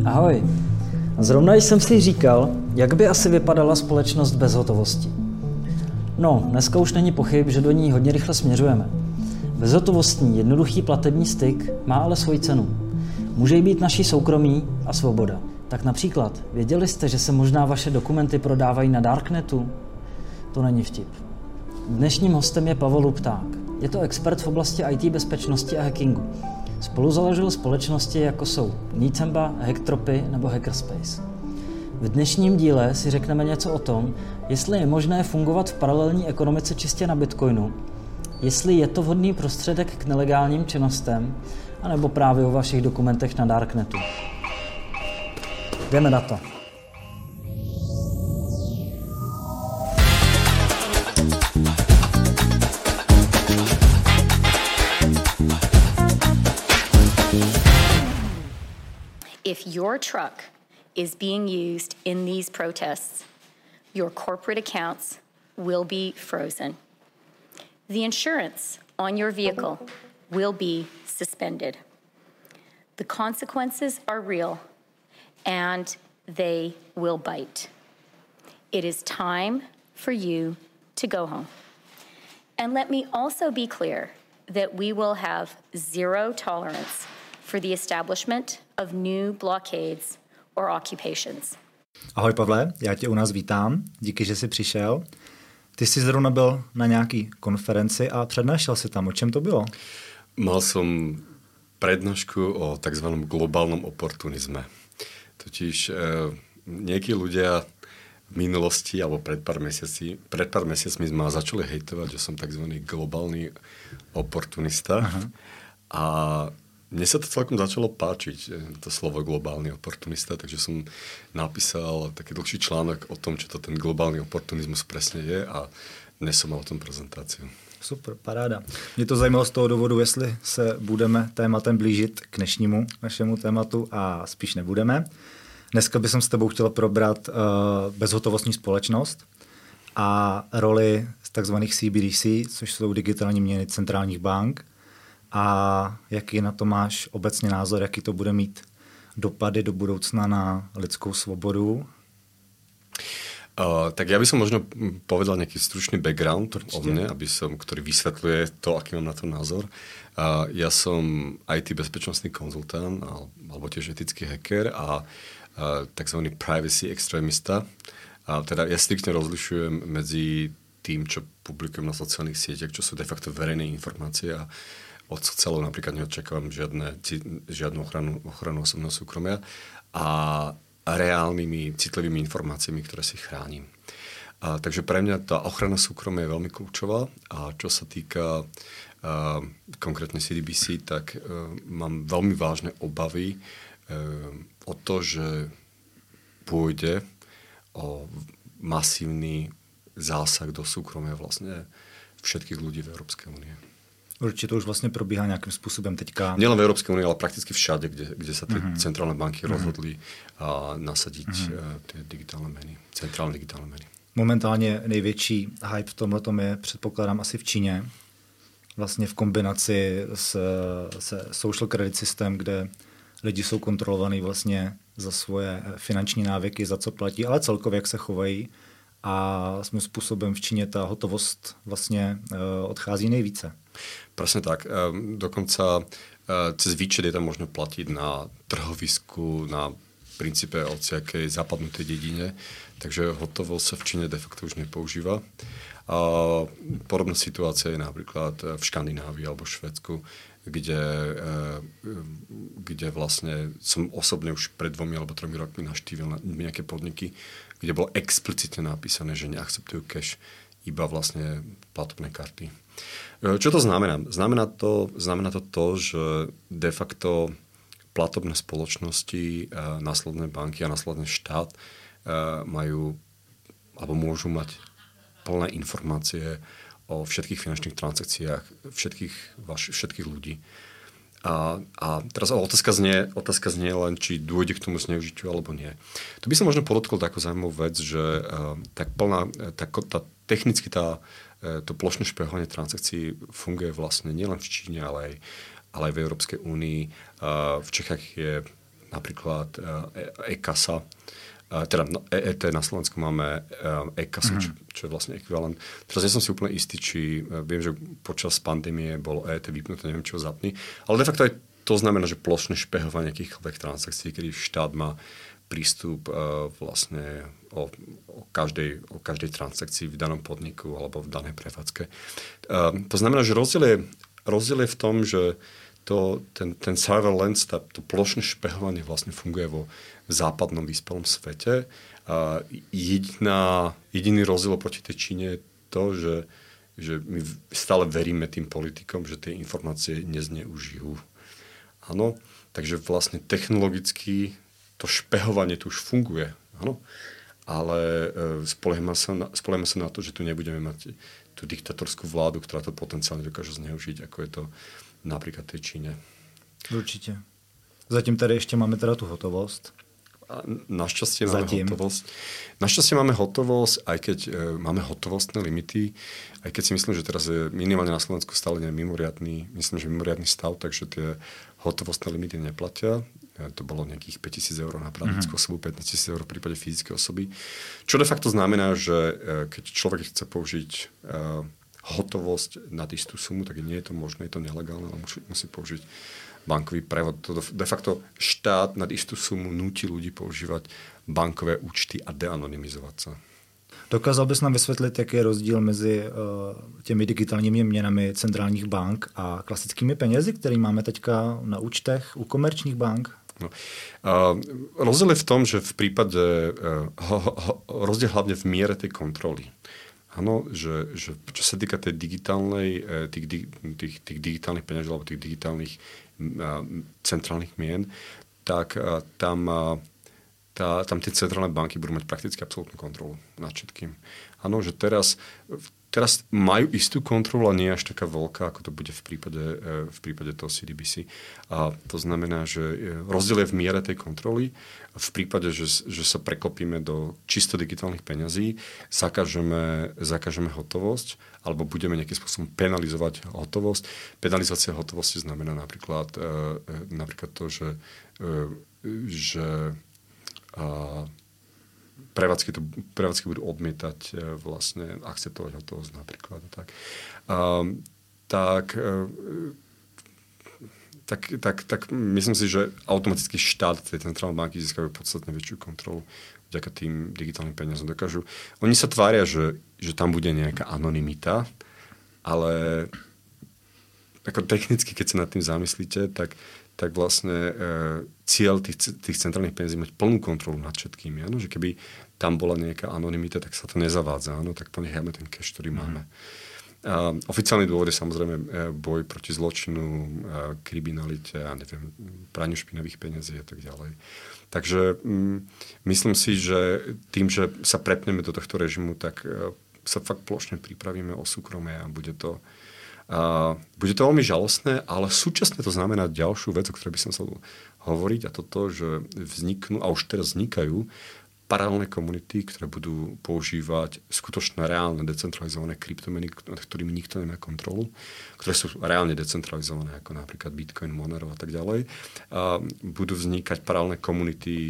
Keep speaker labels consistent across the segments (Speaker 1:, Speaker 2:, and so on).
Speaker 1: Ahoj. Zrovna jsem si říkal, jak by asi vypadala společnost bez hotovosti. No, dneska už není pochyb, že do ní hodně rychle směřujeme. Bezhotovostní, jednoduchý platební styk má ale svoji cenu. Může jí být naší soukromí a svoboda. Tak například, věděli jste, že se možná vaše dokumenty prodávají na Darknetu? To není vtip. Dnešním hostem je Pavel Lupták. Je to expert v oblasti IT bezpečnosti a hackingu. Spoluzaložil společnosti, jako jsou Nicemba, Hacktropy nebo Hackerspace. V dnešním díle si řekneme něco o tom, jestli je možné fungovat v paralelní ekonomice čistě na Bitcoinu, jestli je to vhodný prostředek k nelegálním činnostem, anebo právě o vašich dokumentech na Darknetu. Jdeme na to.
Speaker 2: If your truck is being used in these protests, your corporate accounts will be frozen. The insurance on your vehicle will be suspended. The consequences are real, and they will bite. It is time for you to go home. And let me also be clear that we will have zero tolerance for the establishment of new blockades or occupations.
Speaker 3: Ahoj Pavle, já tě u nás vítám, díky, že jsi přišel. Ty jsi zrovna byl na nějaký konferenci a přednášel si tam. O čem to bylo?
Speaker 4: Mal som prednášku o tzv. Globálnom oportunizme. Totiž niekí ľudia v minulosti alebo pred pár mesiacmi ma začali hejtovať, že som tzv. Globálny oportunista. Aha. A mne sa to celkom začalo páčiť, to slovo globálny oportunista, takže som napísal taký dlhší článok o tom, čo to ten globálny oportunizmus presne je a dnes som mal o tom prezentáciu.
Speaker 3: Super, paráda. Mě to zajímalo z toho důvodu, jestli se budeme tématem blížit k dnešnímu našemu tématu a spíš nebudeme. Dneska bych s tebou chtěl probrat bezhotovostní společnost a roli takzvaných CBDC, což jsou digitální měny centrálních bank, a jaký na to máš obecně názor, jaký to bude mít dopady do budoucna na lidskou svobodu?
Speaker 4: Tak ja by som možno povedal nejaký stručný background o mne, ktorý vysvetľuje to, aký mám na to názor. Ja som IT bezpečnostný konzultant alebo tiež etický hacker a takzvaný privacy extrémista. Teda ja striktne rozlišujem medzi tým, čo publikujem na sociálnych sieťach, čo sú de facto verejné informácie a od sociálov napríklad neočakávam žiadnu ochranu osobného súkromia a reálnymi citlivými informáciami, ktoré si chránim. Takže pre mňa tá ochrana súkromia je veľmi kľúčová a čo sa týka konkrétne CBDC, tak mám veľmi vážne obavy o to, že pôjde o masívny zásah do súkromia vlastne všetkých ľudí v Európskej únie.
Speaker 3: Určitě to už vlastně probíhá nějakým způsobem teďka.
Speaker 4: Nielen v Európskej únii, ale prakticky všade, kde sa tie centrálne banky rozhodli nasadiť tie digitálne meny, centrálne digitálne meny.
Speaker 3: Momentálně největší hype v tomhletom je, předpokládám, asi v Číně. Vlastně v kombinaci se social credit system, kde lidi jsou kontrolovaní vlastně za svoje finanční návyky, za co platí, ale celkově jak se chovají. A svým způsobem v Číně ta hotovost vlastně odchází nejvíce.
Speaker 4: Presne tak. Dokonca cez výčet je tam možno platiť na trhovisku, na princípe hociakej zapadnutej dedine, takže hotovosť sa v Číne de facto už nepoužíva. Podobná situácia je napríklad v Škandinávii alebo v Švédsku, kde vlastne som osobne už pred 2 alebo 3 rokmi navštívil nejaké podniky, kde bolo explicitne napísané, že neakceptujú cash, iba vlastne platobné karty. Čo to znamená? Znamená to, že de facto platobné spoločnosti, následné banky a následný štát majú alebo môžu mať plné informácie o všetkých finančných transakciách všetkých ľudí. A teraz otázka znie len, či dôjde k tomu zneužitiu alebo nie. Tu by som možno podotkol takú zaujímavú vec, že technicky to plošné špehovanie transakcií funguje vlastne nielen v Číne, ale aj v Európskej únii. V Čechách je napríklad e-kasa, teda EET na Slovensku máme e-kasu, čo je vlastne ekvivalent. Teraz nie som si úplne istý, či viem, že počas pandémie bolo EET vypnuté, neviem, či ho zapni, ale de facto aj to znamená, že plošné špehovanie akýchkoľvek transakcií, kedy štát má prístup vlastne o každej transakcii v danom podniku alebo v danej prevádzke. To znamená, že rozdiel je v tom, že ten surveillance, to plošné špehovanie vlastne funguje vo západnom vyspelom svete. Jediný rozdiel proti tej Číne je to, že my stále veríme tým politikom, že tie informácie nezneužijú. Áno, takže vlastne technologicky to špehovanie tu už funguje. Áno, ale spoliehame sa na to, že tu nebudeme mať tú diktatorskú vládu, ktorá to potenciálne dokáže zneužiť, ako je to napríklad tej Číne.
Speaker 3: Určitě. Zatím tady ještě máme teda tu hotovost.
Speaker 4: Našťastie máme hotovosť. Našťastie máme hotovosť, aj keď máme hotovostné limity, aj keď si myslím, že teraz je minimálne na Slovensku stále mimoriadny stav, takže tie hotovostné limity neplatia. To bolo nejakých 5 000 eur na právnickú osobu, 15 000 eur v prípade fyzickej osoby. Čo de facto znamená, že keď človek chce použiť hotovosť na istú sumu, tak nie je to možné, je to nelegálne, ale musí použiť bankový prevod. To de facto štát nad istú sumu núti ľudí používať bankové účty a deanonymizovať sa.
Speaker 3: Dokázal bys nám vysvětlit, jaký je rozdíl mezi těmi digitálními měnami centrálních bank a klasickými penězi, které máme teďka na účtech u komerčních bank?
Speaker 4: No. Rozdiel je v tom, že v prípade rozdiel hlavne v miere tej kontroly. Áno, že čo sa týka tej digitálnej, tých digitálnych peňaží alebo tých digitálnych centrálnych mien, tak tam tie centrálne banky budú mať prakticky absolútnu kontrolu nad všetkým. Áno, že teraz majú istú kontrolu, ale nie až taká veľká, ako to bude v prípade toho CDBC. A to znamená, že rozdiel je v miere tej kontroly. V prípade, že sa preklopíme do čisto digitálnych peňazí, zakážeme hotovosť, alebo budeme nejakým spôsobom penalizovať hotovosť. Penalizácia hotovosti znamená napríklad to, že prevádzky budú odmietať vlastne akceptovať hotovosť napríklad. Tak myslím si, že automaticky štát tej centrálnej banky získajú podstatne väčšiu kontrolu vďaka tým digitálnym peniazom. Oni sa tvária, že tam bude nejaká anonymita, ale ako technicky, keď sa nad tým zamyslíte, tak vlastne cieľ tých centrálnych peniazí mať plnú kontrolu nad všetkými. Áno? Že keby tam bola nejaká anonymita, tak sa to nezavádza. Áno? Tak ponecháme ten cash, ktorý máme. Oficiálny dôvod je samozrejme boj proti zločinu, kriminalite a neviem, praniu špinavých peniazí a tak ďalej. Takže myslím si, že tým, že sa prepneme do tohto režimu, tak sa fakt plošne pripravíme o súkromie a bude to veľmi žalostné, ale súčasne to znamená ďalšiu vec, o ktorej by som chcel hovoriť, a toto, že vzniknú, a už teraz vznikajú, paralelné komunity, ktoré budú používať skutočné reálne decentralizované kryptomeny, nad ktorými nikto nemá kontrolu, ktoré sú reálne decentralizované, ako napríklad Bitcoin, Monero a tak ďalej. Budú vznikať paralelné komunity,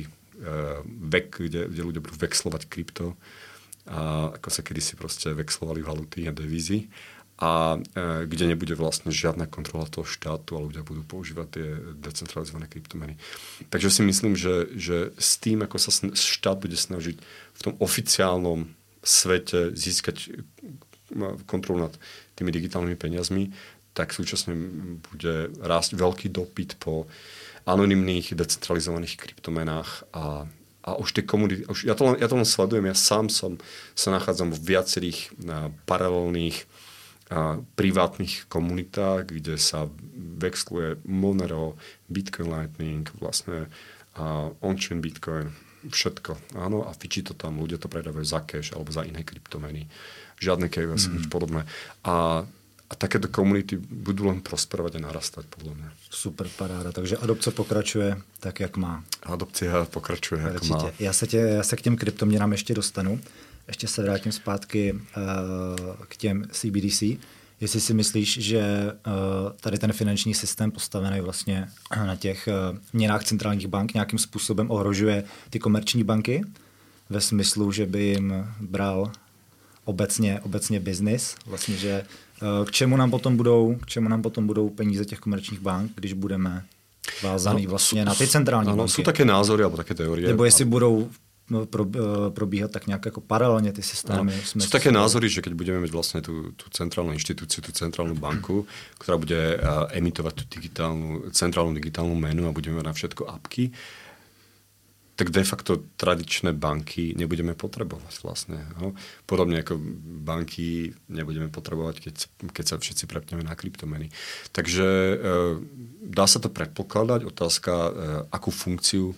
Speaker 4: kde ľudia budú vexlovať krypto, ako sa kedysi proste vexlovali valuty a devízy. A kde nebude vlastne žiadna kontrola toho štátu, ale ľudia budú používať tie decentralizované kryptomeny. Takže si myslím, že s tým, ako sa štát bude snažiť v tom oficiálnom svete získať kontrolu nad tými digitálnymi peniazmi, tak súčasne bude rásť veľký dopyt po anonymných decentralizovaných kryptomenách a už tie komunity, ja to len sledujem, ja sám sa nachádzam vo viacerých paralelných privátnych komunitách, kde sa vexluje Monero, Bitcoin Lightning, vlastne on-chain Bitcoin, všetko. Áno, a fičí to tam, ľudia to predávajú za cash alebo za iné kryptomeny. Žiadne KYC, nič podobné. A takéto komunity budú len prosperovať a narastať, podľa mňa.
Speaker 3: Super paráda, takže adopce pokračuje tak, jak má.
Speaker 4: Adopcia pokračuje, jak má.
Speaker 3: Já se k těm kryptoměnám ještě dostanu. Ještě se vrátím zpátky k těm CBDC. jestli si myslíš, že tady ten finanční systém postavený vlastně na těch měnách centrálních bank nějakým způsobem ohrožuje ty komerční banky ve smyslu, že by jim bral obecně biznis, vlastně, že k čemu nám potom budou peníze těch komerčních bank, když budeme vázaný vlastně na ty centrální banky.
Speaker 4: Sú také názory alebo také teórie.
Speaker 3: Nebo jestli budou probíhat tak nějak jako paralelně ty systémy.
Speaker 4: Sú také názory, že keď budeme mať vlastne tú centrálnu inštitúciu, tú centrálnu banku, ktorá bude emitovať tú centrálnu digitálnu menu a budeme mať na všetko apky, tak de facto tradičné banky nebudeme potrebovať vlastne. No? Podobne ako banky nebudeme potrebovať, keď sa všetci prepneme na kryptomeny. Takže dá sa to predpokladať. Otázka, akú funkciu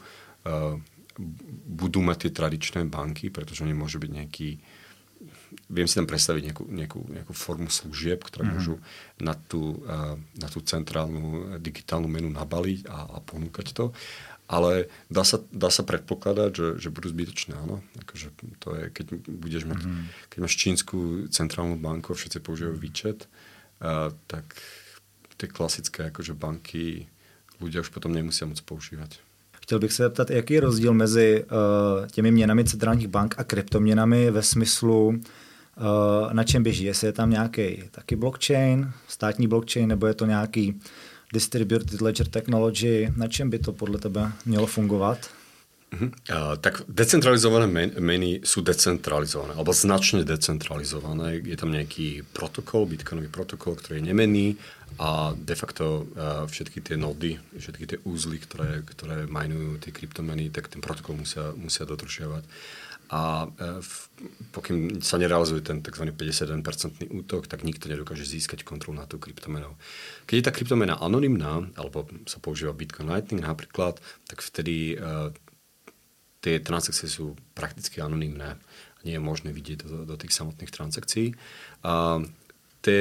Speaker 4: budú mať tie tradičné banky, pretože oni môžu byť nejaký... Viem si tam predstaviť nejakú formu služieb, ktoré môžu na tú centrálnu digitálnu menu nabaliť a ponúkať to. Ale dá sa predpokladať, že budú zbytočné, áno. Akože to je, keď máš čínsku centrálnu banku a všetci používajú výčet, tak tie klasické akože banky ľudia už potom nemusia moc používať.
Speaker 3: Chtěl bych se zeptat, jaký je rozdíl mezi těmi měnami centrálních bank a kryptoměnami ve smyslu, na čem běží. Jestli je tam nějaký taky blockchain, státní blockchain, nebo je to nějaký distributed ledger technology, na čem by to podle tebe mělo fungovat?
Speaker 4: Tak decentralizované meny sú decentralizované, alebo značne decentralizované. Je tam nejaký protokol, bitcoinový protokol, ktorý je nemenný a de facto všetky tie nody, všetky tie úzly, ktoré majnujú tie kryptomeny, tak ten protokol musia dodržiavať. A pokým sa nerealizuje ten tzv. 51% útok, tak nikto nedokáže získať kontrolu nad tou kryptomenou. Keď je tá kryptomena anonymná, alebo sa používa Bitcoin Lightning napríklad, tak vtedy tie transakcie sú prakticky anonymné. Nie je možné vidieť do tých samotných transakcií. Tie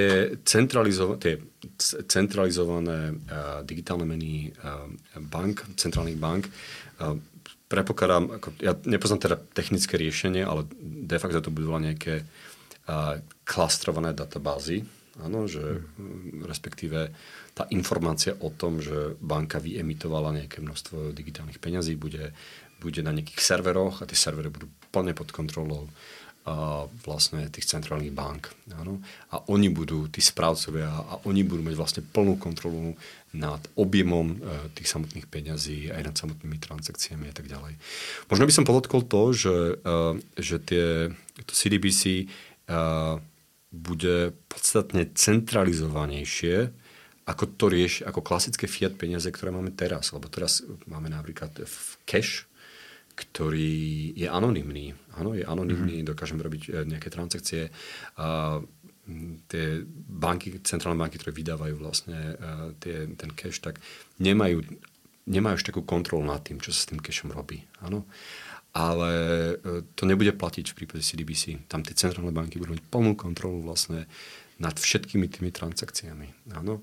Speaker 4: centralizované digitálne meny centrálnych bank, predpokladám, ja nepoznám teda technické riešenie, ale de facto to budú nejaké klastrované databázy, áno, že respektíve tá informácia o tom, že banka vyemitovala nejaké množstvo digitálnych peňazí, bude na nejakých serveroch a tie servery budú plne pod kontrolou vlastne tých centrálnych bank. Áno? A oni budú, tí správcovia, a oni budú mať vlastne plnú kontrolu nad objemom tých samotných peňazí, aj nad samotnými transakciami a tak ďalej. Možno by som podotkol to, že to CDBC bude podstatne centralizovanejšie ako klasické fiat peniaze, ktoré máme teraz. Lebo teraz máme napríklad cash, ktorý je anonymný. Áno, je anonymný, dokážeme robiť nejaké transakcie. Tie banky, centrálne banky, ktoré vydávajú vlastne ten cash, tak nemajú už takú kontrolu nad tým, čo sa s tým cashom robí. Áno. Ale to nebude platiť v prípade CDBC. Tam tie centrálne banky budú mať plnú kontrolu vlastne nad všetkými tými transakciami. Áno.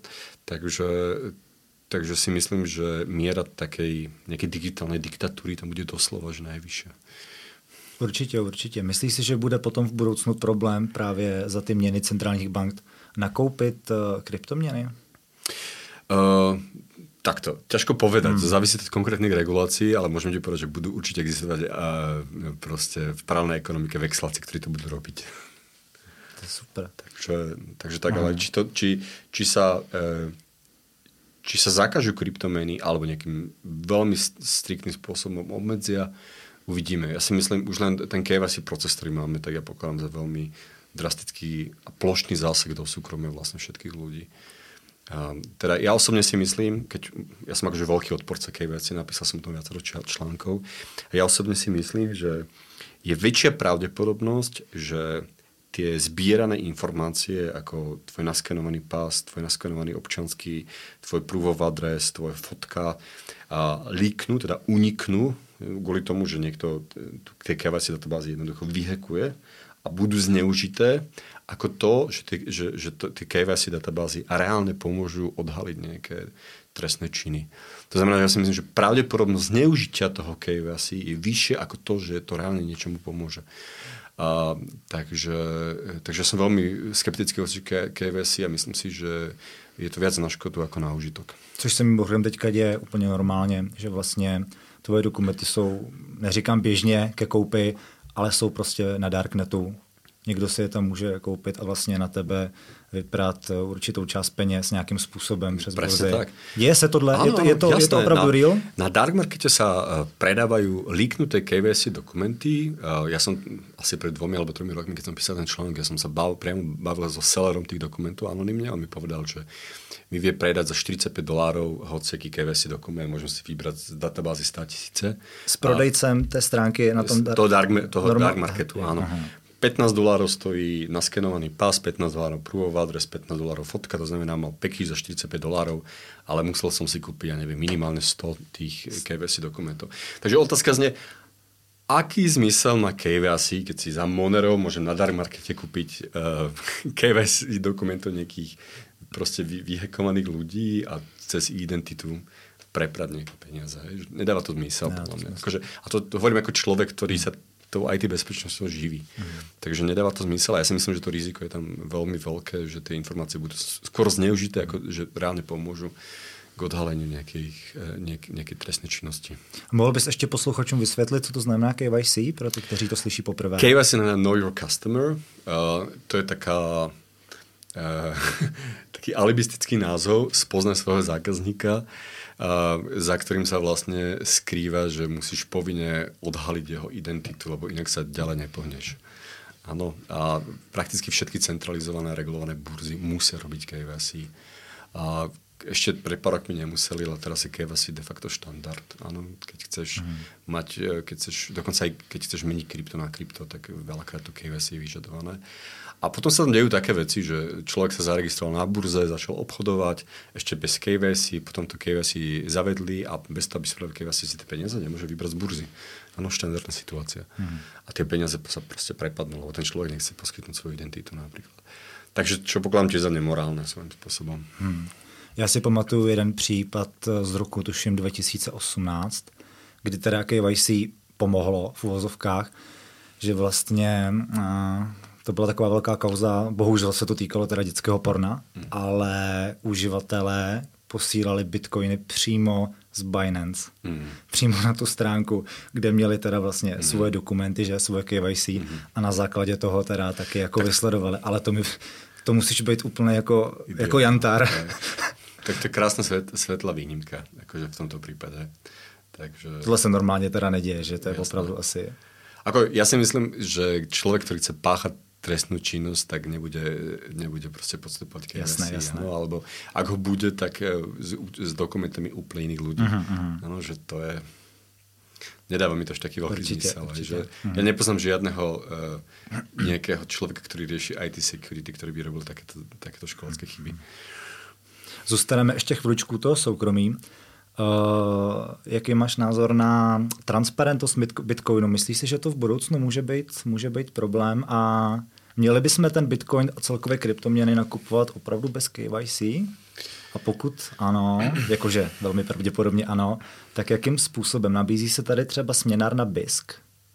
Speaker 4: Takže si myslím, že miera takej nejakej digitálnej diktatúry tam bude doslova že najvyššia.
Speaker 3: Určitě. Myslíš si, že bude potom v budoucnu problém právě za ty měny centrálních bank nakoupit kryptoměny?
Speaker 4: Takto, ťažko povedať. To závisí od konkrétnych regulácií, ale môžem ti povedať, že budú určite existovať proste v paralelnej ekonomike vexláci, ktorí to budú robiť.
Speaker 3: To je super.
Speaker 4: Takže tak, ale či sa zakážu kryptomeny alebo nejakým veľmi striktným spôsobom obmedzia, uvidíme. Ja si myslím, už len ten KYC proces, ktorý máme, tak ja pokladám za veľmi drastický a plošný zásah do súkromia vlastne všetkých ľudí. Teda ja osobne si myslím, ja som akože veľký odporca KYC, napísal som to viacero článkov, a ja osobne si myslím, že je väčšia pravdepodobnosť, že tie zbierané informácie, ako tvoj naskenovaný pás, tvoj naskenovaný občanský, tvoj proof of address, tvoje fotka, líknú, teda uniknú, kvôli tomu, že niekto tie KYC databázy jednoducho vyhekuje a budú zneužité, ako to, že tie KYC databázy reálne pomôžu odhaliť nejaké trestné činy. To znamená, že ja si myslím, že pravdepodobnosť zneužitia toho KYC je vyššie ako to, že to reálne niečomu pomôže. Takže som veľmi skeptický voči KYC a myslím si, že je to viac na škodu ako na užitok.
Speaker 3: Což se mimochodem teďka děje úplně normálně, že vlastně tvoje dokumenty jsou, neříkám běžně ke koupi, ale jsou prostě na darknetu. Někdo si je tam může koupit a vlastně na tebe vyprát určitou část peněz nějakým způsobem přes burzy. Děje se tohle? Áno, je to opravdu real?
Speaker 4: Na dark markete sa predávajú líknuté KYC dokumenty. Ja som asi pred 2 alebo 3 rokmi, keď som písal ten článok, ja som sa priamo bavil so sellerom tých dokumentov anonymne. On mi povedal, že mi vie predať za $45 hociaký KYC dokument, môžem si vybrať z databázy 100 000.
Speaker 3: S prodejcem té stránky na tom
Speaker 4: toho dark marketu, áno. Aha. $15 stojí naskenovaný pas, $15 proof of address, $15 fotka, to znamená, mal package za $45, ale musel som si kúpiť, ja neviem, minimálne 100 tých KYC dokumentov. Takže otázka znie, aký zmysel má KYC, keď si za Monero môžem na dark markete kúpiť KYC dokumentov nejakých proste vyhekovaných ľudí a cez identitu preprať nejaké peniaze. Nedáva to zmysel, podľa mňa. A to hovorím ako človek, ktorý sa tou IT bezpečnosťou živí. Takže nedáva to zmysel a ja si myslím, že to riziko je tam veľmi veľké, že tie informácie budú skôr zneužité, ako že reálne pomôžu k odhaleniu nejakej trestnej činnosti.
Speaker 3: Mohl bys ještě posluchačům vysvětlit, co to znamená KYC, pro ty, kteří to slyší poprvé?
Speaker 4: KYC znamená Know Your Customer. To je taký alibistický názov, spoznaj svojho zákazníka, za ktorým sa vlastne skrýva, že musíš povinne odhaliť jeho identitu, lebo inak sa ďalej nepohneš. Áno, a prakticky všetky centralizované a regulované burzy musia robiť KYC. A ešte pred pár rokmi nemuseli, ale teraz je KYC de facto štandard. Áno, keď chceš dokonca aj keď chceš meniť krypto na krypto, tak veľakrát to KYC je vyžadované. A potom sa tam dejú také veci, že človek sa zaregistroval na burze, začal obchodovať, ešte bez KYC, potom to KYC zavedli a bez toho, aby spravili KYC, si tie peniaze nemôže vybrať z burzy. Áno, štandardná situácia. A tie peniaze sa proste prepadnú, lebo ten človek nechce poskytnúť svoju identitu napríklad. Takže čo pokladám tiež za nemorálne svojím spôsobom.
Speaker 3: Já si pamatuju jeden případ z roku, tuším 2018, kdy teda KYC pomohlo v uvozovkách, že vlastně to byla taková velká kauza, bohužel se to týkalo teda dětského porna, ale uživatelé posílali bitcoiny přímo z Binance. Přímo na tu stránku, kde měli teda vlastně svoje dokumenty, že svoje KYC a na základě toho teda taky jako vysledovali. Ale to musíš být úplně jako jantár.
Speaker 4: Tak to je krásna svetlá výnimka, akože v tomto prípade. Takže...
Speaker 3: Tohle se normálně teda neděje, že to je opravdu asi...
Speaker 4: Ja si myslím, že človek, ktorý chce páchať trestnú činnosť, tak nebude proste podstupovať KYC.
Speaker 3: Jasné.
Speaker 4: Alebo ak ho bude, tak s dokumentami úplne iných ľudí. Ano, že to je... Nedáva mi to až taký veľký zmysel. Ja nepoznám žiadneho nejakého človeka, ktorý rieši IT security, ktorý by robil takéto školské chyby.
Speaker 3: Zůstaneme ještě chviličku toho soukromí. Jaký máš názor na transparentnost Bitcoinu? Myslíš si, že to v budoucnu může být problém a měli bychom ten Bitcoin a celkové kryptoměny nakupovat opravdu bez KYC? A pokud ano, jakože velmi pravděpodobně ano, tak jakým způsobem? Nabízí se tady třeba směnárna BISC?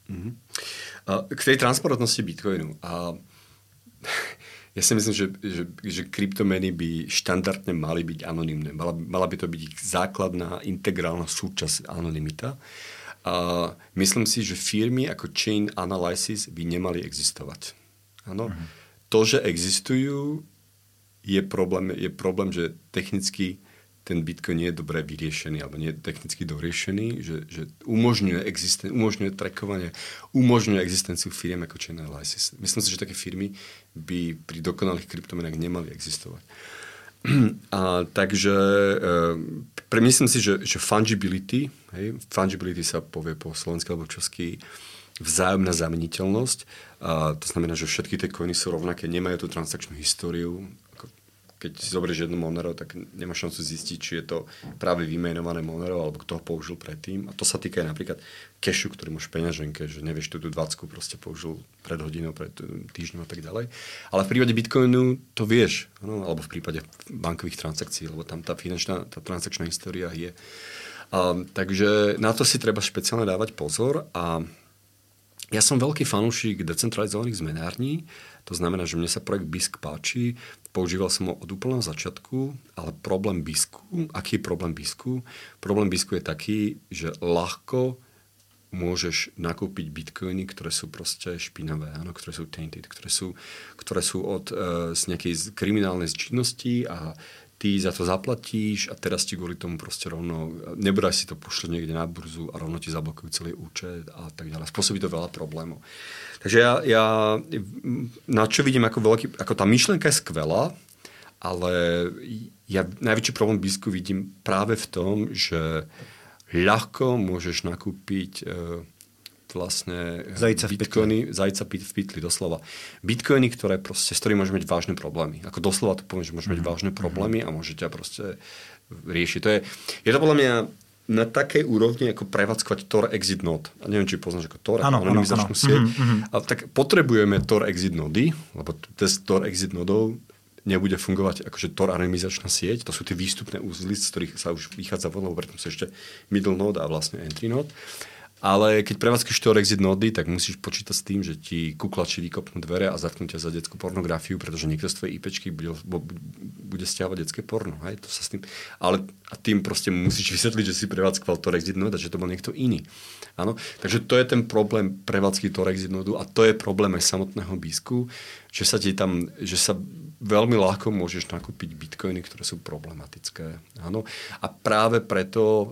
Speaker 4: K tej transparentnosti Bitcoinu. Ja si myslím, že kryptomeny by štandardne mali byť anonymné. Mala by to byť ich základná, integrálna súčasť anonymita. Myslím si, že firmy ako Chain Analysis by nemali existovať. Áno? To, že existujú, je problém, že technicky ten Bitcoin nie je dobre vyriešený alebo nie je technicky doriešený, že umožňuje trackovanie, umožňuje existenciu firiem ako Chain Analysis. Myslím si, že také firmy by pri dokonalých kryptomenách nemali existovať. Takže myslím si, že fungibility sa povie po slovensky alebo česky, vzájomná zameniteľnosť. To znamená, že všetky tie coiny sú rovnaké, nemajú tú transakčnú históriu. Keď si zoberieš jedno Monero, tak nemáš šancu zistiť, či je to práve vymenované Monero, alebo kto ho použil predtým. A to sa týka aj napríklad cashu, ktorý máš v peňaženke, že nevieš, tú 20 proste použil pred hodinou, pred týždňom a tak ďalej. Ale v prípade Bitcoinu to vieš, no? Alebo v prípade bankových transakcií, lebo tam tá transakčná história je. Takže na to si treba špeciálne dávať pozor a Ja som veľký fanúšik decentralizovaných zmenární, to znamená, že mne sa projekt BISC páči, používal som ho od úplného začiatku, ale problém BISCu, aký je problém BISCu? Problém BISCu je taký, že ľahko môžeš nakúpiť bitcoiny, ktoré sú proste špinavé, áno, ktoré sú tainted, ktoré sú z nejakej kriminálnej činnosti a ty za to zaplatíš a teraz ti kvôli tomu proste rovno, nebodaj si to pošle niekde na burzu a rovno ti zablokujú celý účet a tak ďalej. Spôsobí to veľa problémov. Takže ja na čo vidím ako tá myšlienka je skvelá, ale ja najväčší problém BISCu vidím práve v tom, že ľahko môžeš nakúpiť vlastne zajca v pytli, doslova. Bitcoiny, ktoré proste, s ktorými môžeme mať vážne problémy. Ako doslova to poviem, že môžeme mať vážne problémy a môžete proste riešiť. Je to podľa mňa na takej úrovni, ako prevádzkovať Tor Exit Node. A neviem, či poznáš ako Tor, anonymizačnú sieť. A tak potrebujeme Tor Exit Nody, lebo bez Tor Exit Nodov nebude fungovať akože Tor anonymizačná sieť. To sú tie výstupné úzly, z ktorých sa už vychádza von, lebo preto sú ešte middle node a vlastne entry node. Ale keď prevádzkaš Tor Exit Nody, tak musíš počítať s tým, že ti kuklači vykopnú dvere a zatknú ťa za detskú pornografiu, pretože niekto z tvojej IPčky bude stiahovať detské porno. Hej? To sa s tým, ale a tým proste musíš vysvetliť, že si prevádzkoval Tor Exit Node a že to bol niekto iný. Áno? Takže to je ten problém prevádzky Tor Exit Nodu a to je problém aj samotného BISCu, že sa veľmi ľahko môžeš nakúpiť bitcoiny, ktoré sú problematické. Áno? A práve preto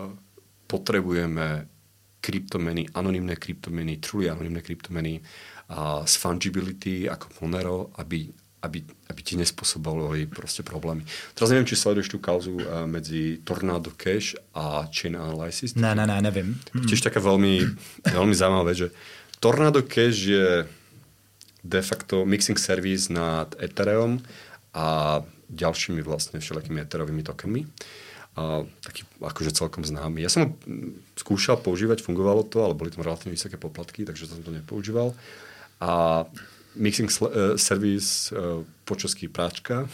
Speaker 4: potrebujeme kryptomeny, anonymné kryptomeny, truly anonymné kryptomeny a z fungibility ako Monero, aby ti nespôsobovali proste problémy. Teraz neviem, či sleduješ tú kauzu medzi Tornado Cash a Chain Analysis.
Speaker 3: Ne, neviem.
Speaker 4: Tiež taká veľmi, veľmi zaujímavá vec, že Tornado Cash je de facto mixing service nad Ethereum a ďalšími vlastne všelijakými Ethereovými tokenmi. Taký akože celkom známy. Ja som ho skúšal používať, fungovalo to, ale boli tam relatívne vysoké poplatky, takže som to nepoužíval. A mixing service po česky práčka.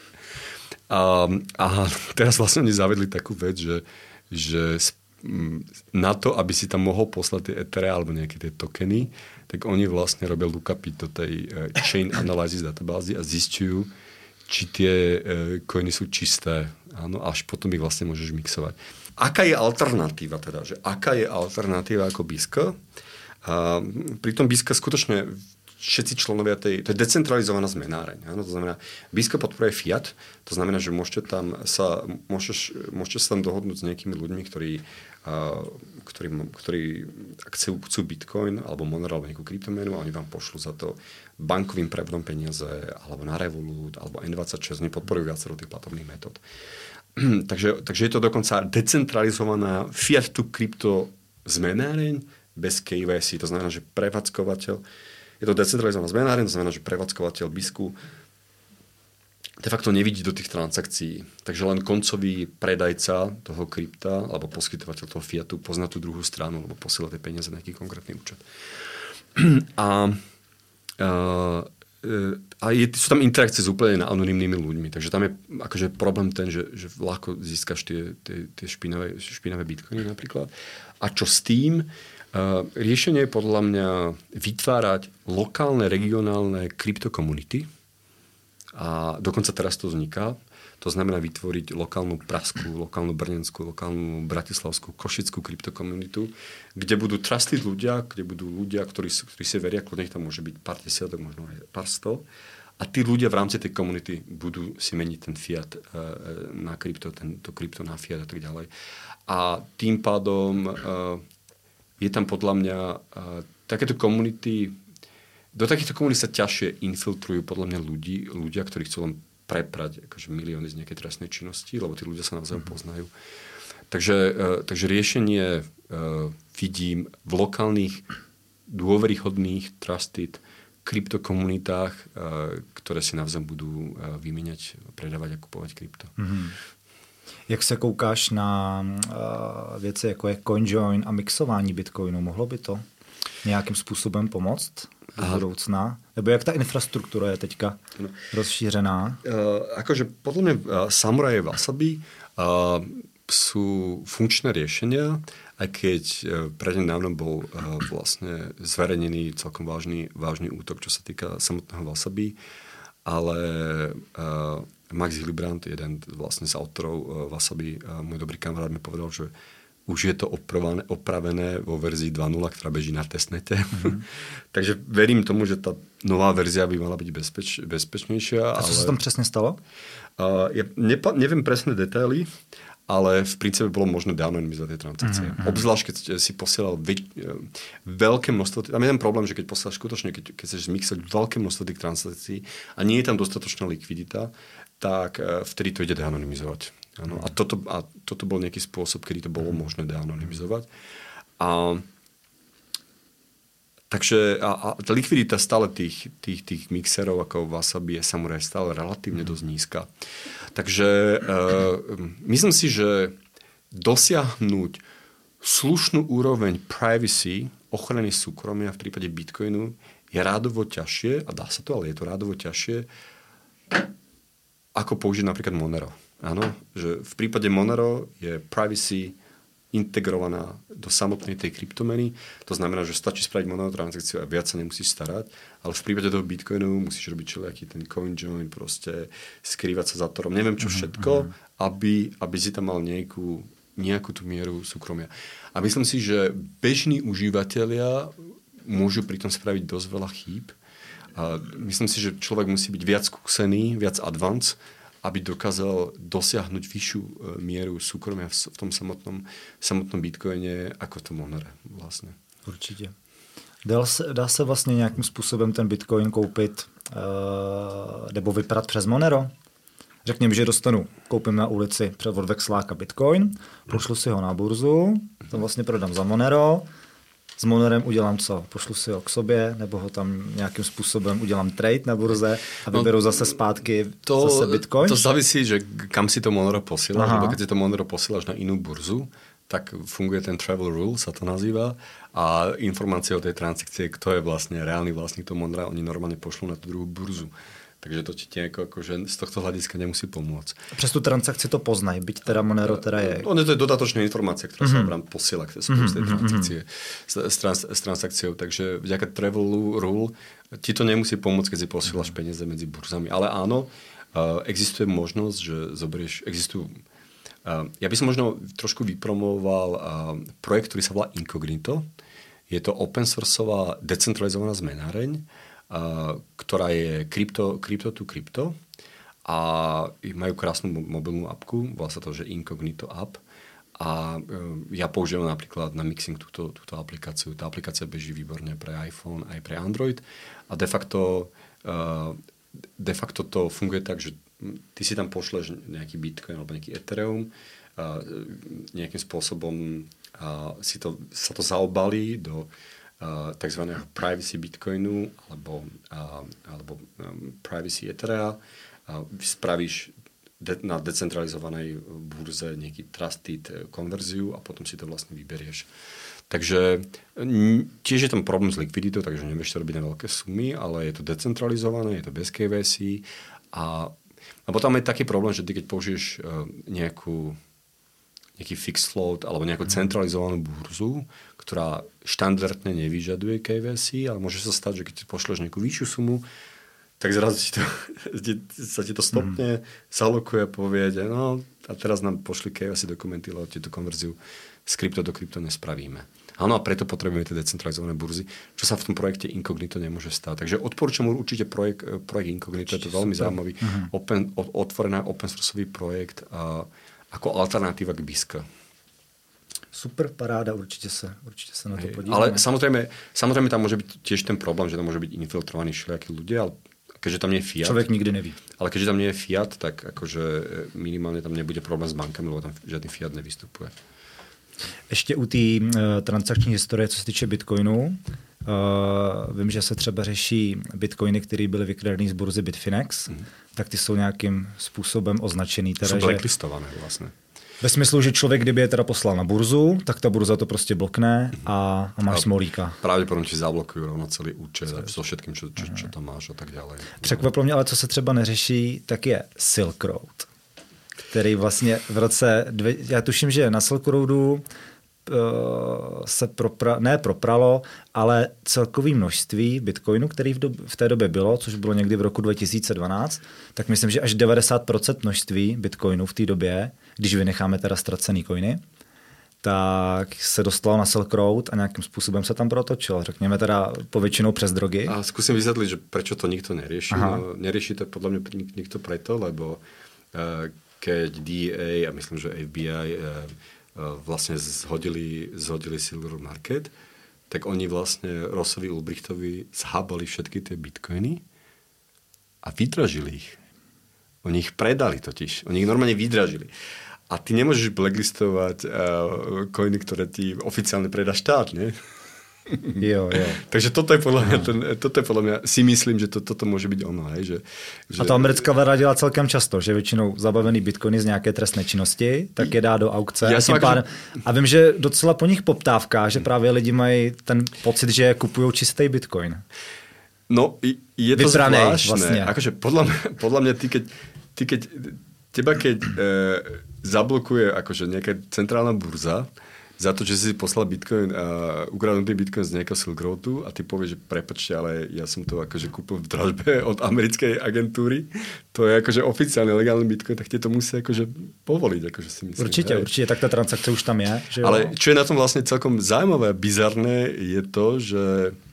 Speaker 4: a teraz vlastne oni zavedli takú vec, že na to, aby si tam mohol poslať tie Ethere alebo nejaké tie tokeny, tak oni vlastne robia lookupy do tej Chain Analysis databázy a zistujú, či tie coiny sú čisté. Áno, až potom ich vlastne môžeš mixovať. Aká je alternatíva teda? Že aká je alternatíva ako BISC? Pri tom BISC skutočne všetci členovia to je decentralizovaná zmenáreň. Áno? To znamená, BISC podporuje fiat, to znamená, že môžete sa tam dohodnúť s nejakými ľuďmi, ktorí chcú Bitcoin alebo Monero alebo nejakú kryptomenu a oni vám pošlú za to bankovým prevodom peniaze alebo na Revolut alebo N26, nepodporujú viacero tých platobných metód. takže je to dokonca decentralizovaná fiat to krypto zmenáreň bez KYC. To znamená, že prevádzkovateľ, je to decentralizovaná zmenáreň, to znamená, že prevádzkovateľ BISCu de facto nevidí do tých transakcií. Takže len koncový predajca toho krypta alebo poskytovateľ toho fiatu pozná tú druhú stranu alebo posiela tie peniaze na nejaký konkrétny účet. Sú tam interakcie s úplne anonymnými ľuďmi. Takže tam je akože problém ten, že ľahko získaš tie špinavé bitcoiny napríklad. A čo s tým? Riešenie je podľa mňa vytvárať lokálne, regionálne kryptokomunity. A dokonca teraz to vzniká. To znamená vytvoriť lokálnu pražskú, lokálnu brněnskú, lokálnu bratislavskú, košickú kryptokomunitu, kde budú trusted ľudia, kde budú ľudia, ktorí si veria, kľudne tam môže byť pár desiatok, možno aj pár sto. A tí ľudia v rámci tej komunity budú si meniť ten fiat na krypto, to krypto na fiat a tak ďalej. A tým pádom je tam podľa mňa takéto komunity. Do takýchto komunít sa ťažšie infiltrujú podľa mňa ľudia, ktorí chcú len preprať akože milióny z nejakej trestnej činnosti, lebo tí ľudia sa navzájom poznajú. Takže riešenie vidím v lokálnych, dôveryhodných, trusted kryptokomunitách, ktoré si navzájom budú vymieňať, predávať a kupovať krypto.
Speaker 3: Mm-hmm. Jak se koukáš na věci, jako je CoinJoin a mixování bitcoinu? Mohlo by to nějakým způsobem pomoct do budoucna? Nebo jak ta infrastruktura je teďka rozšířená?
Speaker 4: Akože podľa mňa Samurai a Wasabi sú funkčné riešenia a aj keď prednedávno bol vlastne zverejnený celkom vážny útok, čo sa týka samotného wasabi, ale Max Hillebrand, jeden vlastne z autorov wasabi, môj dobrý kamarát mi povedal, že už je to opravené vo verzii 2.0, ktorá beží na testnete. Takže verím tomu, že tá nová verzia by mala byť bezpečnejšia.
Speaker 3: A co sa tam presne stalo?
Speaker 4: Ja neviem presné detaily, ale v princípe bolo možné deanonymizovať tie transakcie. Obzvlášť, keď si posielal veľké množstvo... Tam je ten problém, že keď posielaš skutočne, keď chceš zmixať veľké množstvo tých transakcií a nie je tam dostatočná likvidita, tak vtedy to ide deanonymizovať. Ano, a toto bol nejaký spôsob, kedy to bolo možné deanonymizovať. Takže tá likvidita stále tých mixerov ako wasabi je samozrejme stále relatívne dosť nízka. Takže myslím si, že dosiahnuť slušnú úroveň privacy, ochrany súkromia v prípade Bitcoinu je rádovo ťažšie, a dá sa to, ale je to rádovo ťažšie, ako použiť napríklad Monero. Áno, že v prípade Monero je privacy integrovaná do samotnej tej kryptomeny. To znamená, že stačí spraviť Monero transakciu a viac sa nemusíš starať. Ale v prípade toho Bitcoinu musíš robiť všelijaký ten CoinJoin, proste skrývať sa za torom. Neviem čo všetko, aby si tam mal nejakú tú mieru súkromia. A myslím si, že bežní užívateľia môžu pri tom spraviť dosť veľa chýb. A myslím si, že človek musí byť viac skúsený, viac advanced, aby dokázal dosiahnuť vyššiu mieru súkromia v tom samotnom Bitcoine ako v tom Monere vlastne.
Speaker 3: Určitě. Dá se vlastně nějakým způsobem ten Bitcoin koupit nebo vyprat přes Monero? Řekněme, že koupím na ulici od Vexláka Bitcoin, pošlu si ho na burzu, to vlastně prodám za Monero, s Monerem udělám co? Pošlu si ho k sobě, nebo ho tam nějakým způsobem udělám trade na burze a vyberu zase zpátky zase Bitcoin?
Speaker 4: To závisí, že kam si to Monero posíláš, lebo keď si to Monero posíláš na inú burzu, tak funguje ten travel rule, sa to nazýva, a informácie o tej transakcie, kto je vlastne reálny vlastník toho Monera, oni normálne pošlú na tú druhú burzu. Takže to ti akože z tohto hľadiska nemusí pomôcť.
Speaker 3: Přes tú transakci to poznají, byť teda Monero teda je...
Speaker 4: To je dodatočná informácia, ktorá sa vám posiela k tej transakcie s transakciou. Takže vďaka travel rule ti to nemusí pomôcť, keď si posielaš peniaze medzi burzami. Ale áno, existuje možnosť, že ja by som možno trošku vypromoval projekt, ktorý sa volá Incognito. Je to open sourceová decentralizovaná zmenáreň, ktorá je crypto to crypto a majú krásnu mobilnú apku, volá sa to, že Incognito app, a ja používam napríklad na mixing túto aplikáciu. Tá aplikácia beží výborne pre iPhone aj pre Android a de facto to funguje tak, že ty si tam pošleš nejaký Bitcoin alebo nejaký Ethereum, nejakým spôsobom sa to zaobalí do takzvaného privacy Bitcoinu alebo privacy Etherea. Spravíš na decentralizovanej burze nejaký trusted konverziu a potom si to vlastne vyberieš. Takže tiež je tam problém s likviditou, takže nevieš to robiť na veľké sumy, ale je to decentralizované, je to bez KYC a potom je taký problém, že ty keď použiješ nejaký fixed float alebo nejakú centralizovanú burzu, ktorá štandardne nevyžaduje KYC, ale môže sa stať, že keď ti pošleš nejakú vyššiu sumu, tak zrazu sa ti to stopne, zalokuje a povie, no a teraz nám pošli KYC dokumenty, lebo ti tú konverziu z krypto do krypto nespravíme. Áno, a preto potrebujeme tie decentralizované burzy, čo sa v tom projekte Incognito nemôže stať. Takže odporúčam určite projekt Incognito, je to veľmi zaujímavý, otvorený open sourceový projekt ako alternatíva k BISC.
Speaker 3: Super, paráda, určite sa na to podívame.
Speaker 4: Ale samozrejme tam môže byť tiež ten problém, že tam môže byť infiltrovaní všelijakí ľudia, ale keďže tam nie je fiat.
Speaker 3: Človek nikdy neví.
Speaker 4: Ale keďže tam nie je fiat, tak akože minimálne tam nebude problém s bankami, lebo tam žiadny fiat nevystupuje.
Speaker 3: Ještě u té transakční historie, co se týče Bitcoinu, vím, že se třeba řeší Bitcoiny, které byly vykradené z burzy Bitfinex, tak ty jsou nějakým způsobem označený.
Speaker 4: Teda, jsou blacklistované vlastně.
Speaker 3: Ve smyslu, že člověk, kdyby je teda poslal na burzu, tak ta burza to prostě blokne a máš smolíka.
Speaker 4: Pravděpodobně ti zablokují rovno celý účet so všetkým, čo tam máš a tak dále.
Speaker 3: Překvapilo mě, ale co se třeba neřeší, tak je Silk Road, který vlastně v roce... Já tuším, že na Silk Roadu se propralo, ale celkové množství bitcoinu, který v té době bylo, což bylo někdy v roku 2012, tak myslím, že až 90% množství bitcoinu v té době, když vynecháme teda ztracený coiny, tak se dostalo na Silk Road a nějakým způsobem se tam protočilo. Řekněme teda povětšinou přes drogy.
Speaker 4: A skúsim vysvetliť, že prečo to nikto nerieši. No, nerieši to podľa mňa nikto preto, lebo keď DEA a myslím, že FBI vlastne zhodili Silver Market, tak oni vlastne Rossovi Ulbrichtovi zhábali všetky tie bitcoiny a vydražili ich. Oni ich predali totiž. Oni ich normálne vydražili. A ty nemôžeš blacklistovať coiny, ktoré ti oficiálne predá štát, nie?
Speaker 3: Jo.
Speaker 4: Takže toto je podľa mňa, si myslím, že toto môže byť ono. Hej, že
Speaker 3: a to americká vláda dělá celkem často, že většinou zabavený bitcoiny z nějaké trestné činnosti, tak je dá do aukce. A vím, že docela po nich poptávka, že právě lidi mají ten pocit, že kupují čistý bitcoin.
Speaker 4: No, je to
Speaker 3: vybranej,
Speaker 4: zvláštne.
Speaker 3: Vlastne.
Speaker 4: Akože podľa mňa teba keď zablokuje akože nejaká centrálna burza za to, že si poslal bitcoin, ukradnutý bitcoin z nejakého Silk Roadu a ty povieš, že prepáčte, ale ja som to akože kúpil v dražbe od americkej agentúry, to je akože oficiálne legálny bitcoin, tak ti to musí akože povoliť, akože si myslím.
Speaker 3: Určite, tak tá transakcia už tam je. Že
Speaker 4: ale čo je na tom vlastne celkom zaujímavé a bizarné, je to, že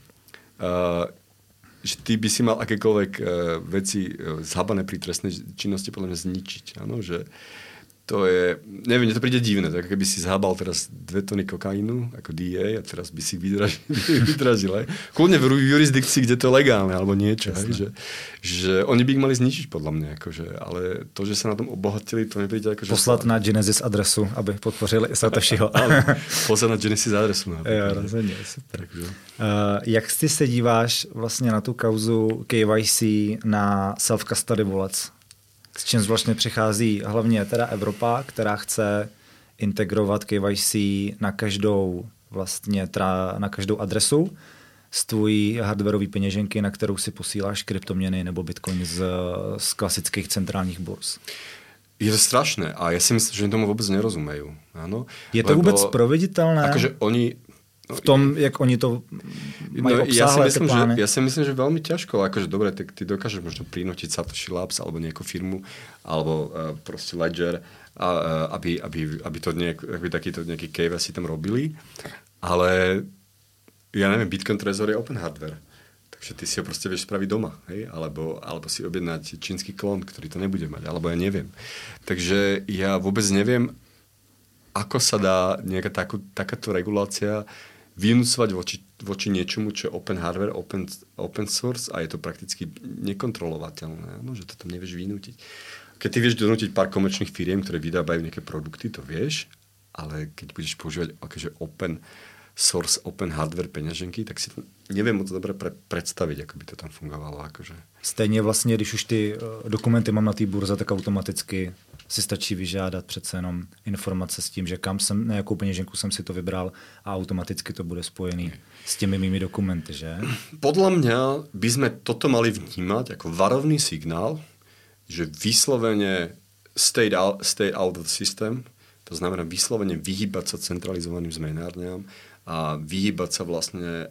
Speaker 4: ty by si mal akékoľvek veci zhabané pri trestnej činnosti podľa mňa zničiť. Áno, že to je, neviem, mne to príde divné, tak keby si zhábal teraz 2 tony kokainu ako DEA a teraz by si vydražil. Kľudne v jurisdikcii, kde to je legálne alebo niečo. Hej, že oni by ich mali zničiť podľa mňa. Akože, ale to, že sa na tom obohatili, to mi príde akože...
Speaker 3: Poslat na Genesis adresu, aby podpořili Satoshiho.
Speaker 4: Poslat na Genesis adresu.
Speaker 3: Jo, rozhodně, super. Jak ty se díváš vlastně na tu kauzu KYC na self-custody wallets? S čím vlastně přichází hlavně teda Evropa, která chce integrovat KYC na každou adresu z tvojí hardwareové peněženky, na kterou si posíláš kryptoměny nebo bitcoin z klasických centrálních burz.
Speaker 4: Je to strašné a ja si myslím, že tomu vôbec nerozumejú. Áno?
Speaker 3: Je to vôbec provediteľné?
Speaker 4: Akože oni...
Speaker 3: V tom, jak oni to majú obsáhle, tie plány?
Speaker 4: Ja si myslím, že veľmi ťažko. Akože dobre, ty dokážeš možno prinútiť Satoshi Labs alebo nejakú firmu alebo proste Ledger, aby to takýto nejaký KYC tam robili. Ale ja neviem, Bitcoin Trezor je open hardware. Takže ty si ho proste vieš spraviť doma. Hej? Alebo si objednať čínsky klon, ktorý to nebude mať. Alebo ja neviem. Takže ja vôbec neviem, ako sa dá nejaká takáto regulácia vynúcovať voči niečomu, čo je open hardware, open source a je to prakticky nekontrolovateľné. No, že to tam nevieš vynútiť. Keď ty vieš donútiť pár komerčných firiem, ktoré vydávajú nejaké produkty, to vieš, ale keď budeš používať akože open source, open hardware peňaženky, tak si to neviem moc dobre predstaviť, ako by to tam fungovalo. Akože.
Speaker 3: Stejně vlastně, když už ty dokumenty mám na té burze, tak automaticky si stačí vyžádat přece jenom informace s tím, že na jakou peněženku jsem si to vybral a automaticky to bude spojený s těmi mými dokumenty, že?
Speaker 4: Podľa mňa by sme toto mali vnímať ako varovný signál, že vyslovene stay out of the system, to znamená vyslovene vyhýbať sa centralizovaným zmenárňam a vyhýbať sa vlastne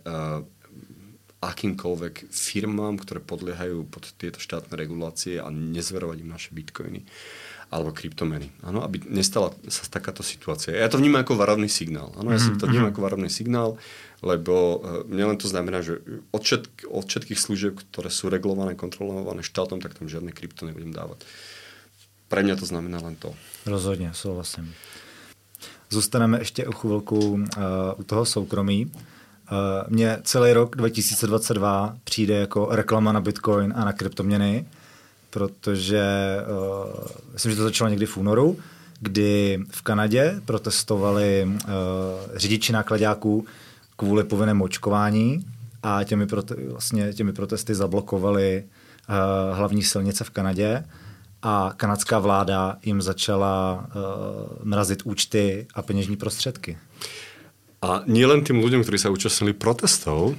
Speaker 4: akýmkoľvek firmám, ktoré podliehajú pod tieto štátne regulácie a nezverovať im naše bitcoiny alebo kryptomeny. Áno, aby nestala sa takáto situácia. Ja to vnímam ako varovný signál. Áno, ja si to vnímam ako varovný signál, lebo nielen to znamená, že od všetkých služieb, ktoré sú regulované, kontrolované štátom, tak tam žiadne krypto nebudem dávať. Pre mňa to znamená len to.
Speaker 3: Rozhodně, souhlasím. Zůstaneme ještě o chvilku u toho soukromí. Mně celý rok 2022 přijde jako reklama na Bitcoin a na kryptoměny, protože myslím, že to začalo někdy v únoru, kdy v Kanadě protestovali řidiči náklaďáků kvůli povinnému očkování a těmi protesty zablokovali hlavní silnice v Kanadě a kanadská vláda jim začala mrazit účty a peněžní prostředky.
Speaker 4: A nielen tým ľuďom, ktorí sa účastnili protestov,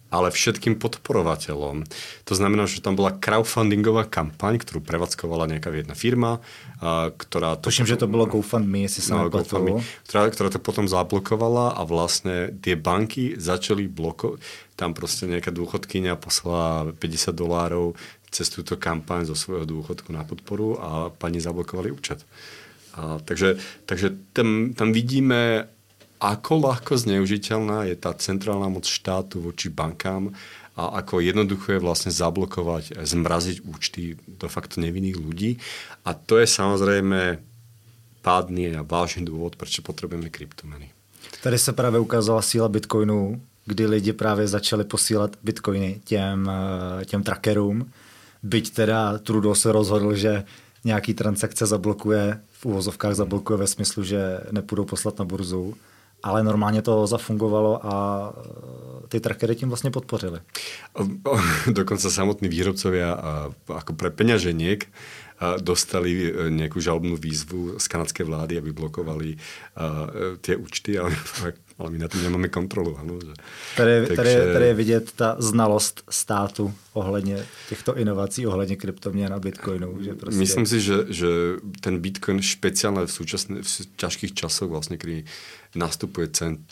Speaker 4: ale všetkým podporovateľom. To znamená, že tam bola crowdfundingová kampaň, ktorú prevádzkovala nejaká jedna firma, ktorá...
Speaker 3: Tuším, že to bylo GoFundMe, jestli sa nepletu.
Speaker 4: Ktorá to potom zablokovala a vlastne tie banky začali blokovať. Tam proste nejaká dôchodkyňa poslala $50 cez túto kampaň zo svojho dôchodku na podporu a pani zablokovali účet. Takže tam vidíme, ako ľahko zneužiteľná je tá centrálna moc štátu voči bankám a ako jednoducho je vlastne zablokovať, zmraziť účty do faktu nevinných ľudí. A to je samozrejme pádný a vážný dôvod, prečo potrebujeme kryptomeny.
Speaker 3: Tady se právě ukázala síla Bitcoinu, kdy lidi právě začali posílat Bitcoiny těm trackerům. Byť teda Trudeau se rozhodl, že nějaký transakce zablokuje, v uvozovkách zablokuje ve smyslu, že nepůjdou poslat na burzu. Ale normálně to zafungovalo a ty trackery tím vlastně podpořili.
Speaker 4: Dokonca samotní výrobcovia ako pre peňaženiek dostali nejakú žalobnú výzvu z kanadskej vlády, aby blokovali tie účty, ale my na tom nemáme kontrolu. Ano, že.
Speaker 3: Tady je vidět ta znalost státu ohledně těchto inovací, ohledně kryptoměn a Bitcoinu. Že prostě...
Speaker 4: Myslím si, že ten Bitcoin špeciálne v ťažkých časoch, vlastne, kedy nastupuje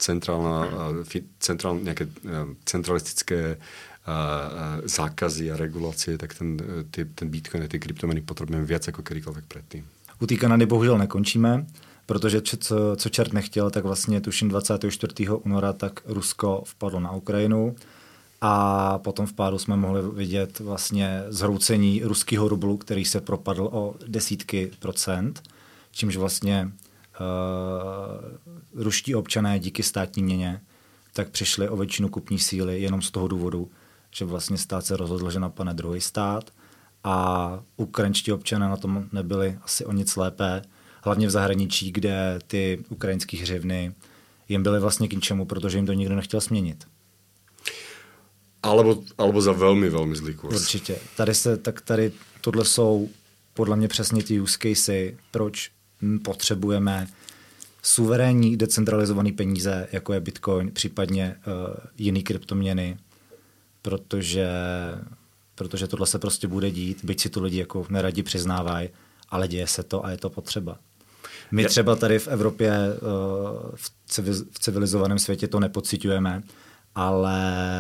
Speaker 4: nejaké centralistické zákazy a regulácie, tak ten Bitcoin a tie kryptomeny potrebujeme viac ako kedykoľvek predtým.
Speaker 3: U té Kanady bohužel nekončíme, protože co čert nechtěl, tak vlastně tuším 24. února tak Rusko vpadlo na Ukrajinu a potom v pádu jsme mohli vidět vlastně zhroucení ruského rublu, který se propadl o desítky procent, čímž vlastně ruští občané díky státní měně tak přišli o většinu kupní síly jenom z toho důvodu, že vlastně stát se rozhodl, že napadne druhý stát a ukrajinští občané na tom nebyli asi o nic lépe, hlavně v zahraničí, kde ty ukrajinské hřivny jim byly vlastně k ničemu, protože jim to nikdo nechtěl směnit.
Speaker 4: Alebo za velmi, velmi zlý kurz.
Speaker 3: Určitě. Tady tohle jsou podle mě přesně ty use casey, proč potřebujeme suverénní decentralizované peníze, jako je Bitcoin, případně jiný kryptoměny, protože tohle se prostě bude dít, byť si to lidi jako neradi přiznávají, ale děje se to a je to potřeba. My třeba tady v Evropě, v civilizovaném světě to nepociťujeme, ale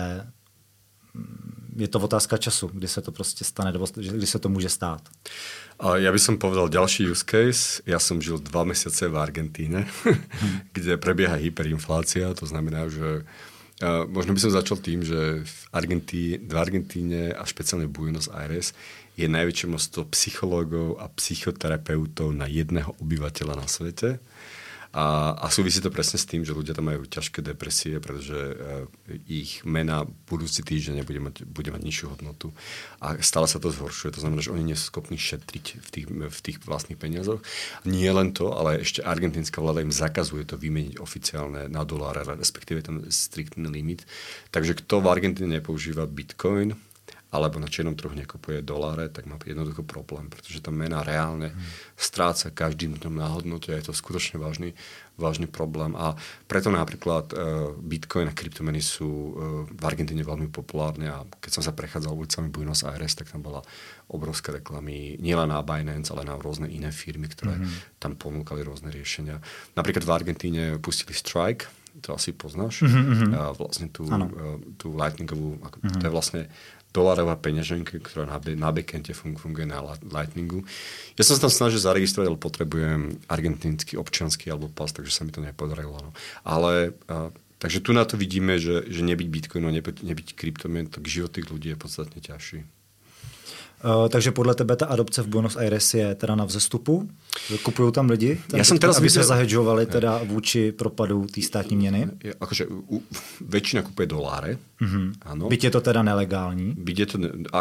Speaker 3: je to otázka času, kdy se to prostě stane, kdy se to může stát.
Speaker 4: Ja by som povedal ďalší use case. Ja som žil 2 mesiace v Argentíne, kde prebieha hyperinflácia. To znamená, že možno by som začal tým, že v Argentíne a špeciálne v Buenos Aires je najväčšie množstvo psychológov a psychoterapeutov na jedného obyvateľa na svete. A súvisí to presne s tým, že ľudia tam majú ťažké depresie, pretože ich mena budúci týždeň bude mať nižšiu hodnotu. A stále sa to zhoršuje. To znamená, že oni nie sú schopní šetriť v tých vlastných peniazoch. Nie len to, ale ešte argentínska vláda im zakazuje to vymeniť oficiálne na doláre, respektíve ten striktný limit. Takže kto v Argentíne nepoužíva Bitcoin, alebo na čiernom trhu nekupuje doláre, tak má jednoducho problém, pretože tá mena reálne stráca každým dňom na hodnote a je to skutočne vážny problém. A preto napríklad Bitcoin a kryptomeny sú v Argentíne veľmi populárne a keď som sa prechádzal ulicami Buenos Aires, tak tam bola obrovské reklamy nielen na Binance, ale na rôzne iné firmy, ktoré tam ponúkali rôzne riešenia. Napríklad v Argentíne pustili Strike, to asi poznáš, vlastne tú lightningovú, to je vlastne dolárová peňaženka, ktorá na backende funguje na Lightningu. Ja som sa tam snažil zaregistrovať, ale potrebujem argentínsky občiansky alebo pas, takže sa mi to nepodarilo. No. Ale takže tu na to vidíme, že nebyť Bitcoinu a nebyť kryptomien, tak život tých ľudí je podstatne ťažší.
Speaker 3: Takže podle tebe ta adopce v Buenos Aires je teda na vzestupu? Kupujú tam lidi? Aby se zahedžovali teda vůči propadu té státní měny?
Speaker 4: Akože väčšina kupuje doláre. Áno.
Speaker 3: Byť je to teda nelegální?
Speaker 4: Byť je to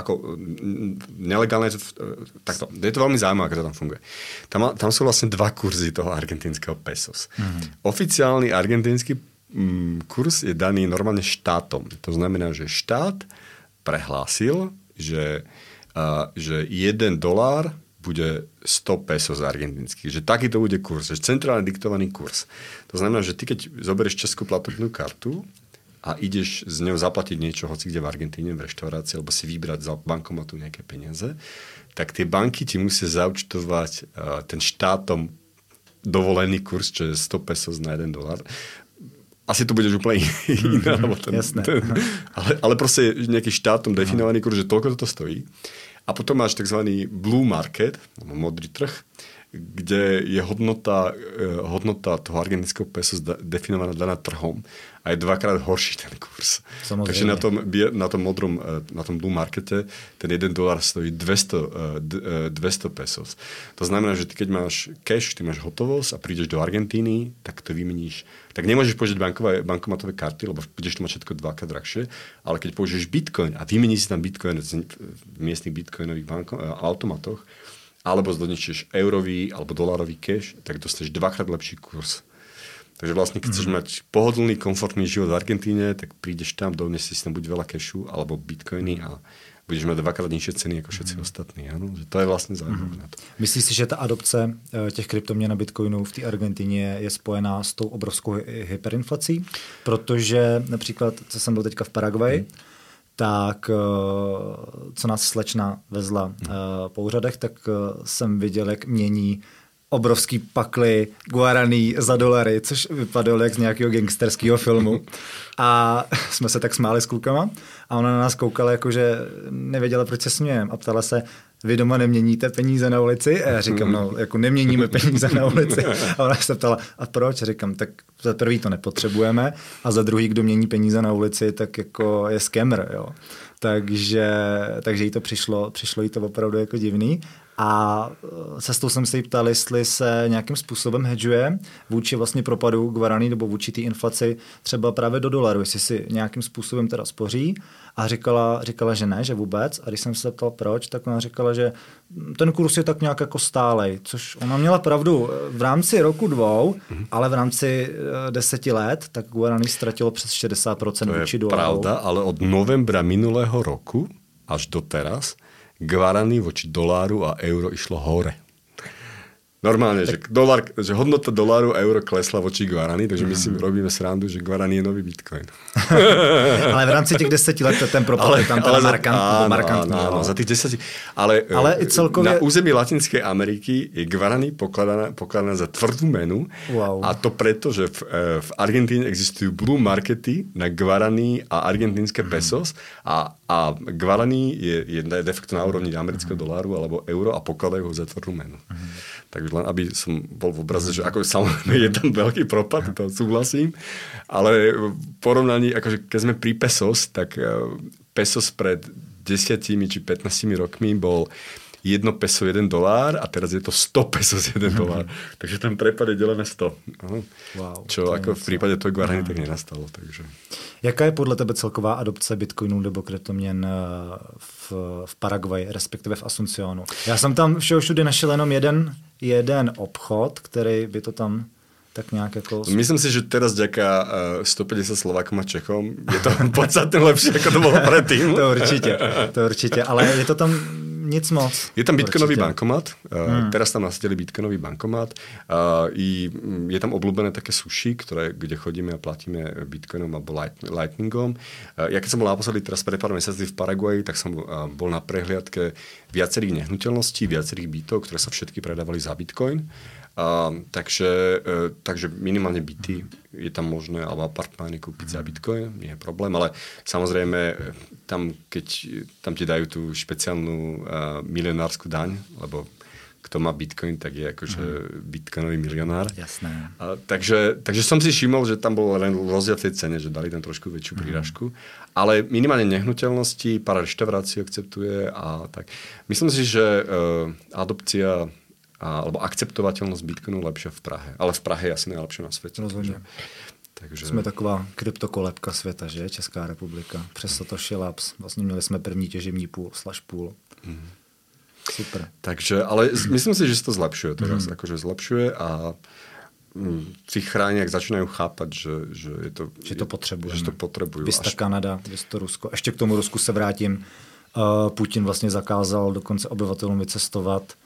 Speaker 4: nelegálne, takto. Je to veľmi zaujímavé, ako to tam funguje. Tam sú vlastne 2 kurzy toho argentínskeho pesos. Oficiálny argentínsky kurz je daný normálne štátom. To znamená, že štát prehlásil, že $1 bude 100 pesos argentinských. Že taký to bude kurz. Že centrálne diktovaný kurz. To znamená, že ty keď zoberieš českú platobnú kartu a ideš z ňou zaplatiť niečo, hoci kde v Argentíne, v reštaurácii, alebo si vybrať za bankomatu nejaké peniaze, tak tie banky ti musia zaúčtovať ten štátom dovolený kurz, čo je 100 pesos na $1. Asi to budeš úplne iné. Ale proste nejaký štátom definovaný kurz, že toľko to stojí. A potom máš tzv. Blue market, modrý trh, kde je hodnota toho argentínskeho peso definovaná daná trhom a je dvakrát horší ten kurz. Samozrejme. Takže na tom blue markete ten $1 stojí 200 pesos. To znamená, že ty keď máš cash, ty máš hotovosť a prídeš do Argentíny, tak to vymeníš. Tak nemôžeš použiť bankomatové karty, lebo budeš to mať všetko dvakrát drahšie, ale keď použiješ bitcoin a vymeníš si tam bitcoin v miestnych bitcoinových automatoch, alebo zdoničíš eurový alebo dolárový cash, tak dostaneš dvakrát lepší kurz. Takže vlastne, keď chceš mať pohodlný, komfortný život v Argentíne, tak prídeš tam, donesieš si tam buď veľa cashu, alebo bitcoiny a budeš mať dvakrát nižšie ceny ako všetci ostatní. Ano? Že to je vlastně zaujímavé na to.
Speaker 3: Myslíš si, že ta adopce těch kryptoměn a bitcoinů v té Argentině je spojená s tou obrovskou hyperinflací? Protože například, co jsem byl teďka v Paraguaji, tak co nás slečna vezla po úřadech, tak jsem viděl, jak mění obrovský pakly guaraní za dolary, což vypadalo jak z nějakého gangsterského filmu. A jsme se tak smáli s klukama a ona na nás koukala, jakože nevěděla, proč se smějem a ptala se, vy doma neměníte peníze na ulici? A já říkám, no, jako neměníme peníze na ulici. A ona se ptala, a proč? A říkám, tak za prvý to nepotřebujeme a za druhý, kdo mění peníze na ulici, tak jako je scammer, jo. Takže jí to přišlo jí to opravdu jako divný. A cestou jsem se jí ptal, jestli se nějakým způsobem hedžuje vůči vlastně propadu guaraní nebo vůči té inflaci třeba právě do dolaru, jestli si nějakým způsobem teda spoří. A říkala, že ne, že vůbec. A když jsem se ptal proč, tak ona říkala, že ten kurz je tak nějak jako stálej, což ona měla pravdu v rámci roku 2, ale v rámci 10 let, tak guaraní ztratilo přes 60% vůči dolaru.
Speaker 4: To je pravda, ale od novembra minulého roku až do teraz guaraní voči doláru a euro išlo hore. Normálne, že hodnota doláru a euro klesla voči guaraní, takže my si robíme srandu, že guaraní je nový bitcoin.
Speaker 3: Ale v rámci těch 10 let ten propad je tam teda markantný.
Speaker 4: Áno, za tých 10. Ale i celkově... Na území Latinskej Ameriky je guaraní pokladaná za tvrdú menu. Wow. A to preto, že v Argentíne existujú blue markety na guaraní a argentínske pesos a guaraní je de facto na úrovni amerického doláru alebo euro a pokladajú ho za tvrdú menu. Takže len aby som bol v obraze, že ako samozrejme je tam veľký propad, to súhlasím, ale v porovnaní, akože keď sme pri pesos, tak pesos pred 10 či 15 rokmi bol 1 peso $1 a teraz je to 100 pesos $1. Takže ten prepad je delené 100. Wow, čo ako v prípade toho guaraní tak nenastalo. Takže.
Speaker 3: Jaká je podle tebe celková adopce bitcoinů nebo kryptoměn v Paraguaji, respektive v Asuncionu? Já jsem tam všude našel jenom jeden obchod, který by to tam tak nějak jako...
Speaker 4: Myslím si, že teraz ďaká 150 Slovákom a Čechom je to podstatne lepšie, ako to bolo predtým.
Speaker 3: To určite, ale je to tam nic moc.
Speaker 4: Je tam bitcoinový bankomat, teraz tam nasadili bitcoinový bankomat, je tam obľúbené také sushi, kde chodíme a platíme bitcoinom alebo lightningom. Ja keď som bol naposledy teraz pred pár mesiaci v Paraguaji, tak som bol na prehliadke viacerých nehnuteľností, viacerých bytov, ktoré sa všetky predávali za bitcoin. Takže minimálne byty je tam možné, alebo apartmány kúpiť za bitcoin, nie je problém, ale samozrejme tam ti dajú tú špeciálnu milionárskú daň, lebo kto má bitcoin, tak je akože bitcoinový milionár.
Speaker 3: Jasné.
Speaker 4: Takže som si všimol, že tam bol len rozdiel v tej cene, že dali tam trošku väčšiu prírážku, ale minimálne nehnuteľnosti, pár reštaurácií akceptuje a tak. Myslím si, že adopcia alebo akceptovateľnosť bitcoinu lepšia v Prahe. Ale v Prahe je asi najlepšie na svete.
Speaker 3: Rozhodně. Takže... Jsme taková kryptokolebka světa, že? Česká republika. Přes Satoshi Labs. Vlastně měli jsme první těžební půl. Super.
Speaker 4: Takže, ale myslím si, že se to zlepšuje teraz. Akože zlepšuje a si chráňák začínajú chápať, že je to...
Speaker 3: Že to potřebujeme.
Speaker 4: Že to potrebujú.
Speaker 3: Vys ta Kanada, vys to Rusko. Ještě k tomu Rusku se vrátím. Putin vlastně zakázal dokonce obyvatelům vycestovat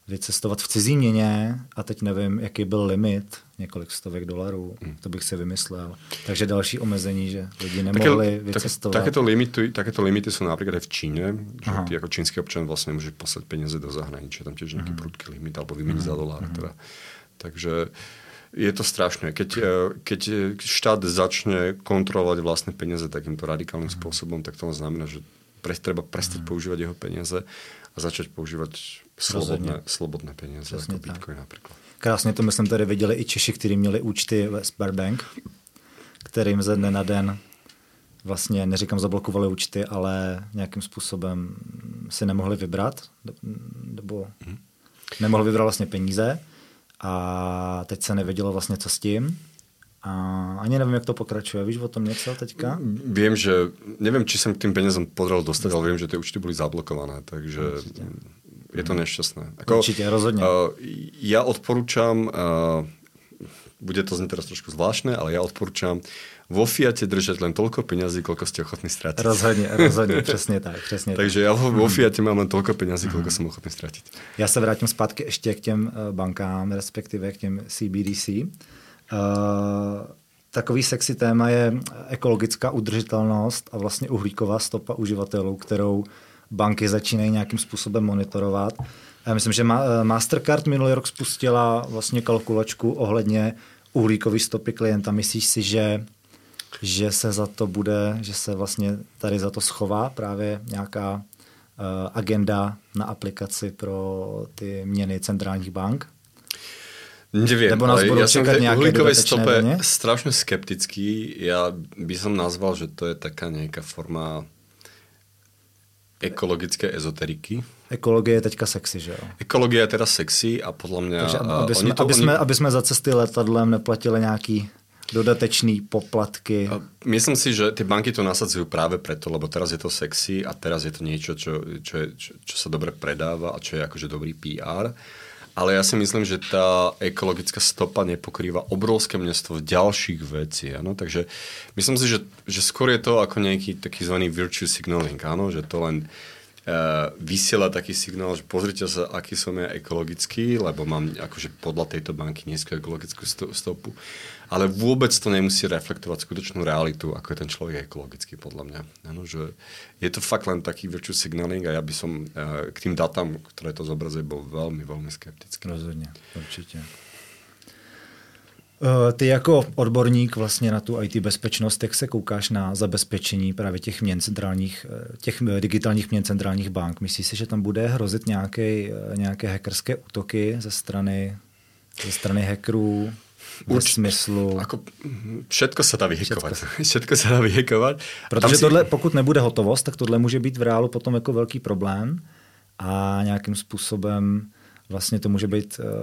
Speaker 3: vycestovat v cizí měně a teď nevím, jaký byl limit, několik stovek $, to bych si vymyslel. Takže další omezení, že lidi nemohli vycestovat.
Speaker 4: Takéto limity sú napríklad aj v Číne, že ty ako čínsky občan vlastne môžeš poslať peniaze do zahraničia, tam tiež nejaký prudký limit, alebo vymeniť za $. Teda. Takže je to strašné. Keď štát začne kontrolovať vlastné peniaze takýmto radikálnym spôsobom, tak to znamená, že treba prestať používať jeho peniaze a začať používať slobodné peniaze, jako Bitcoin například.
Speaker 3: Krásně to myslím tady viděli i Češi, kteří měli účty ve Sberbank, kterým ze dne na den vlastně, neříkám zablokovali účty, ale nějakým způsobem si nemohli vybrat, nebo nemohli vybrat vlastně peníze a teď se nevědělo vlastně, co s tím. A ani nevím, jak to pokračuje. Víš o tom něco teďka?
Speaker 4: Vím, že nevím, či jsem k tým peniazom podaral dostať, ale vím, že ty účty byly zablokované, takže je to nešťastné.
Speaker 3: Určitě, rozhodně.
Speaker 4: Ja odporúčam, bude to znieť teraz trošku zvláštne, ale ja odporúčam vo Fiate držať len toľko peňazí, koľko ste ochotní stratiť.
Speaker 3: Rozhodně, přesně tak.
Speaker 4: Takže ja vo Fiate mám len toľko peňazí, koľko som ochotný stratiť.
Speaker 3: Já se vrátím zpátky ještě k těm bankám, respektive k těm CBDC. Takový sexy téma je ekologická udržitelnost a vlastně uhlíková stopa uživatelů, kterou banky začínají nějakým způsobem monitorovat. Já myslím, že Mastercard minulý rok spustila vlastně kalkulačku ohledně uhlíkové stopy klienta. Myslíš si, že se za to bude, že se vlastně tady za to schová právě nějaká agenda na aplikaci pro ty měny centrálních bank?
Speaker 4: Neviem, ale ja som v tej uhlíkovej stope strašne skeptický. Ja by som nazval, že to je taká nejaká forma ekologické ezoteriky.
Speaker 3: Ekologie je teďka sexy, že jo?
Speaker 4: Ekologie je teda sexy a podľa mňa...
Speaker 3: Takže aby sme za cesty letadlem neplatili nejaký dodatečný poplatky.
Speaker 4: Myslím si, že tie banky to nasadzujú práve preto, lebo teraz je to sexy a teraz je to niečo, čo sa dobre predáva a čo je akože dobrý PR. Ale ja si myslím, že tá ekologická stopa nepokrýva obrovské množstvo ďalších vecí. Áno? Takže myslím si, že skôr je to ako nejaký taký zvaný virtue signaling. Áno? Že to len vysiela taký signál, že pozrite sa, aký som ja ekologický, lebo mám akože podľa tejto banky nízku ekologickú stopu. Ale vôbec to nemusí reflektovať skutočnú realitu, ako je ten človek ekologický, podľa mňa. Ano, že je to fakt len taký virtue signaling a ja by som k tým datám, ktoré to zobrazuje, bol veľmi, veľmi skeptický.
Speaker 3: Rozhodně, určitě. Ty jako odborník vlastně na tu IT bezpečnost, jak se koukáš na zabezpečení právě těch měn centrálních, těch digitálních měn centrálních bank? Myslíš si, že tam bude hrozit nějaké hackerské útoky ze strany hackerů? V smyslu...
Speaker 4: Všetko sa dá vyhekovať.
Speaker 3: Protože tohle, pokud nebude hotovost, tak tohle může být v reálu potom jako velký problém a nějakým způsobem vlastně to může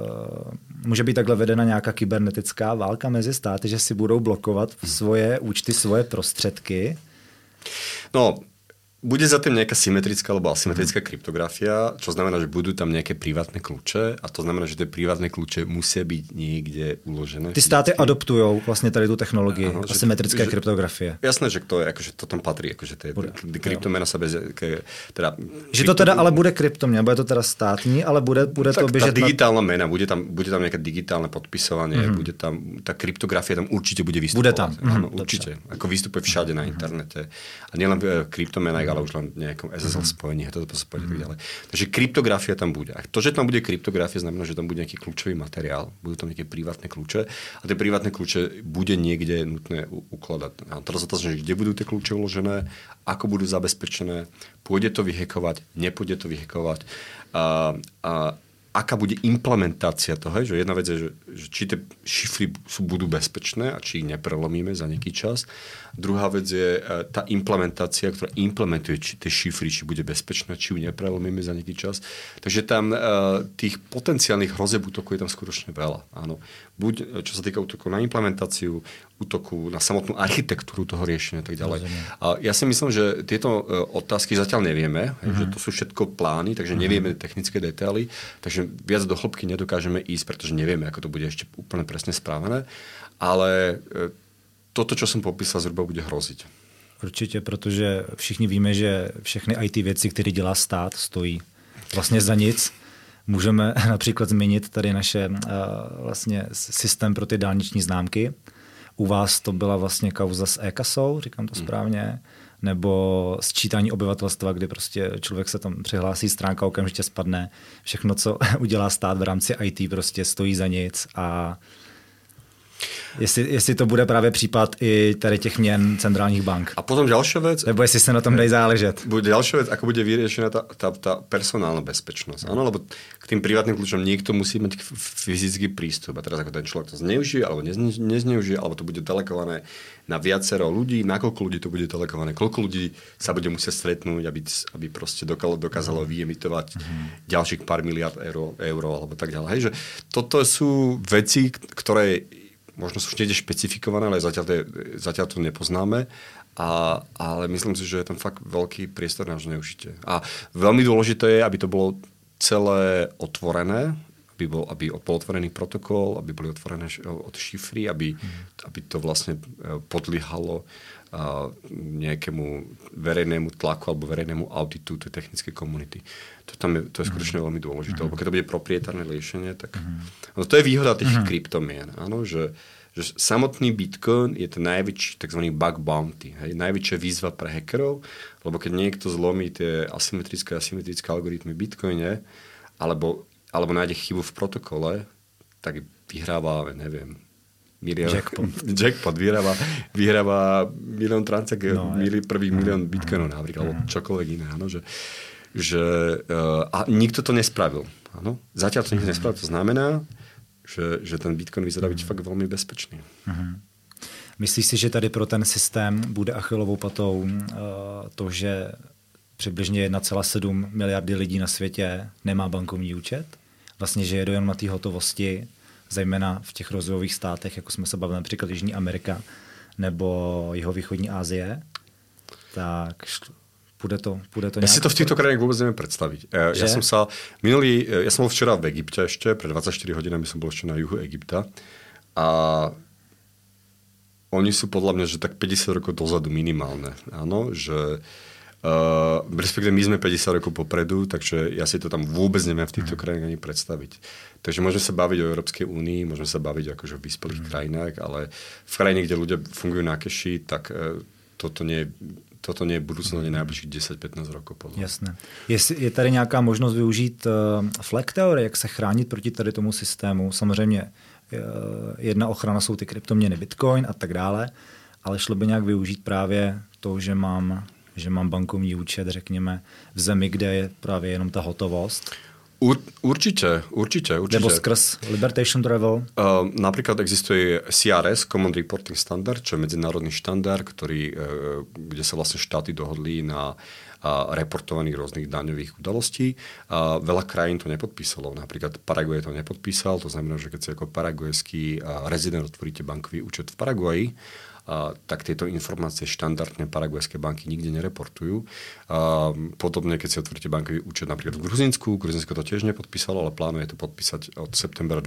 Speaker 3: být takhle vedena nějaká kybernetická válka mezi státy, že si budou blokovat svoje účty, svoje prostředky.
Speaker 4: No, bude za tým nejaká symetrická alebo asymetrická kryptografia, čo znamená, že budú tam nejaké privátne kľúče a to znamená, že tie privátne kľúče musia byť niekde uložené.
Speaker 3: Ty státy adoptujou vlastne tady tú technológii asymetrické kryptografie.
Speaker 4: Jasné, že to je, akože to tam patrí, akože to je kryptomena sa bez... Teda,
Speaker 3: že to teda ale bude kryptomena, bude to teda státní, ale bude to běžet...
Speaker 4: Tá digitálna mena, bude tam nejaké digitálne podpisovanie, bude tam, tá kryptografia tam určite bude vystupovať.
Speaker 3: Bude tam.
Speaker 4: Áno, určite. Ako vystupuje všade na internete. A nielen kryptomena, ale už len nejakom SSL spojení a toto spojenie tak ďalej. Takže kryptografia tam bude. A to, že tam bude kryptografia, znamená, že tam bude nejaký kľúčový materiál, budú tam nejaké privátne kľúče a tie privátne kľúče bude niekde nutné ukladať. A teraz otázka, kde budú tie kľúče uložené, ako budú zabezpečené, pôjde to vyhekovať, nepôjde to vyhekovať a aká bude implementácia toho, že jedna vec je, že či tie šifry budú bezpečné a či ich neprelomíme za nejaký čas. Druhá vec je tá implementácia, ktorá implementuje tie šifry, či bude bezpečná, či ju neprelomíme za nejaký čas. Takže tam tých potenciálnych hrozeb útokov je tam skutočne veľa. Áno. Buď čo sa týka útoku na implementáciu, útoku na samotnú architektúru toho riešenia a tak ďalej. A ja si myslím, že tieto otázky zatiaľ nevieme, že to sú všetko plány, takže nevieme technické detaily, takže viac do hĺbky nedokážeme ísť, pretože nevieme, ako to bude ešte úplne presne správené, ale toto, čo som popísal, zhruba bude hroziť.
Speaker 3: Určitě, protože všichni víme, že všechny IT věci, které dělá stát, stojí vlastně za nic Můžeme například zmínit tady naše vlastně systém pro ty dálniční známky. U vás to byla vlastně kauza s e-kasou, říkám to správně, nebo sčítání obyvatelstva, kdy prostě člověk se tam přihlásí, stránka okamžitě spadne. Všechno, co udělá stát v rámci IT, prostě stojí za nic a jestli to bude právě případ i tady těch měn centrálních bank.
Speaker 4: A potom ďalšia vec.
Speaker 3: Nebo jestli se na tom dají záležet.
Speaker 4: Ďalšia vec, ako bude vyriešená tá personálna bezpečnosť. Áno, lebo k tým privátnym kľúčom niekto musí mať fyzický prístup. A teraz ako ten človek to zneužije, alebo nezneužije, alebo to bude delegované na viacero ľudí, na koľko ľudí to bude delegované, koľko ľudí sa bude musieť stretnúť, aby proste dokázalo vyemitovať ďalších pár miliard eur alebo tak ďalej. Hej, že toto sú veci, ktoré možno sú niekde špecifikované, ale zatiaľ to nepoznáme. Ale myslím si, že je tam fakt veľký priestor na zneužitie. A veľmi dôležité je, aby to bolo celé otvorené, aby bol otvorený protokol, aby boli otvorené od šifry, aby to vlastne podliehalo nejakému verejnému tlaku alebo verejnému auditu tej technickej komunity. To je skutočne veľmi dôležité, lebo keď to bude proprietárne riešenie, tak no to je výhoda tých kryptomien, áno, že samotný Bitcoin je ten najväčší tzv. Bug bounty, hej, najväčšia výzva pre hackerov, lebo keď niekto zlomí tie asymetrické algoritmy v Bitcoine, alebo nájde chybu v protokole, tak vyhráva, neviem, Jackpot vyhráva milión transakcií, prvý milión bitcoinov napríklad, alebo čokoľvek iné. Áno, a nikto to nespravil. Áno? Zatiaľ to nikto nespravil. To znamená, že ten bitcoin vyzerá byť fakt veľmi bezpečný.
Speaker 3: Myslíš si, že tady pro ten systém bude achillovou patou to, že přibližně 1,7 miliardy lidí na světě nemá bankovní účet? Vlastně, že jedou jen na té hotovosti, zejména v těch rozvojových státech, jako jsme se bavili například Jižní Amerika nebo jihovýchodní Asie, tak bude to
Speaker 4: Ja si to v týchto krajinách vôbec neviem predstaviť. Ja som bol včera v Egypte ešte, pred 24 hodinami som bol ešte na juhu Egypta a oni sú podľa mňa, že tak 50 rokov dozadu minimálne. Áno, že respektíve my sme 50 rokov popredu, takže ja si to tam vôbec neviem v týchto krajinách ani predstaviť. Takže môžeme sa baviť o Európskej únii, môžeme sa baviť akože o vyspelých krajinách, ale v krajine, kde ľudia fungujú na keši, tak toto nie je budúcnosť najbližších 10-15 rokov.
Speaker 3: Jasné. Je tady nějaká možnost využít flag theory, jak se chránit proti tady tomu systému? Samozřejmě jedna ochrana jsou ty kryptoměny Bitcoin a tak dále, ale šlo by nějak využít právě to, že mám bankovní účet, řekněme, v zemi, kde je právě jenom ta hotovost?
Speaker 4: Určite.
Speaker 3: Nebo skrz Libertation Travel?
Speaker 4: Napríklad existuje CRS, Common Reporting Standard, čo je medzinárodný štandard, kde sa vlastne štáty dohodli na reportovaných rôznych daňových udalostí. Veľa krajín to nepodpísalo. Napríklad Paraguay to nepodpísal, to znamená, že keď si ako paraguajský rezident otvoríte bankový účet v Paraguaji, tak tieto informácie štandardne paraguajské banky nikde nereportujú. Podobne, keď si otvoríte bankový účet napríklad v Gruzínsku, Gruzínsko to tiež nepodpísalo, ale plánuje to podpísať od septembra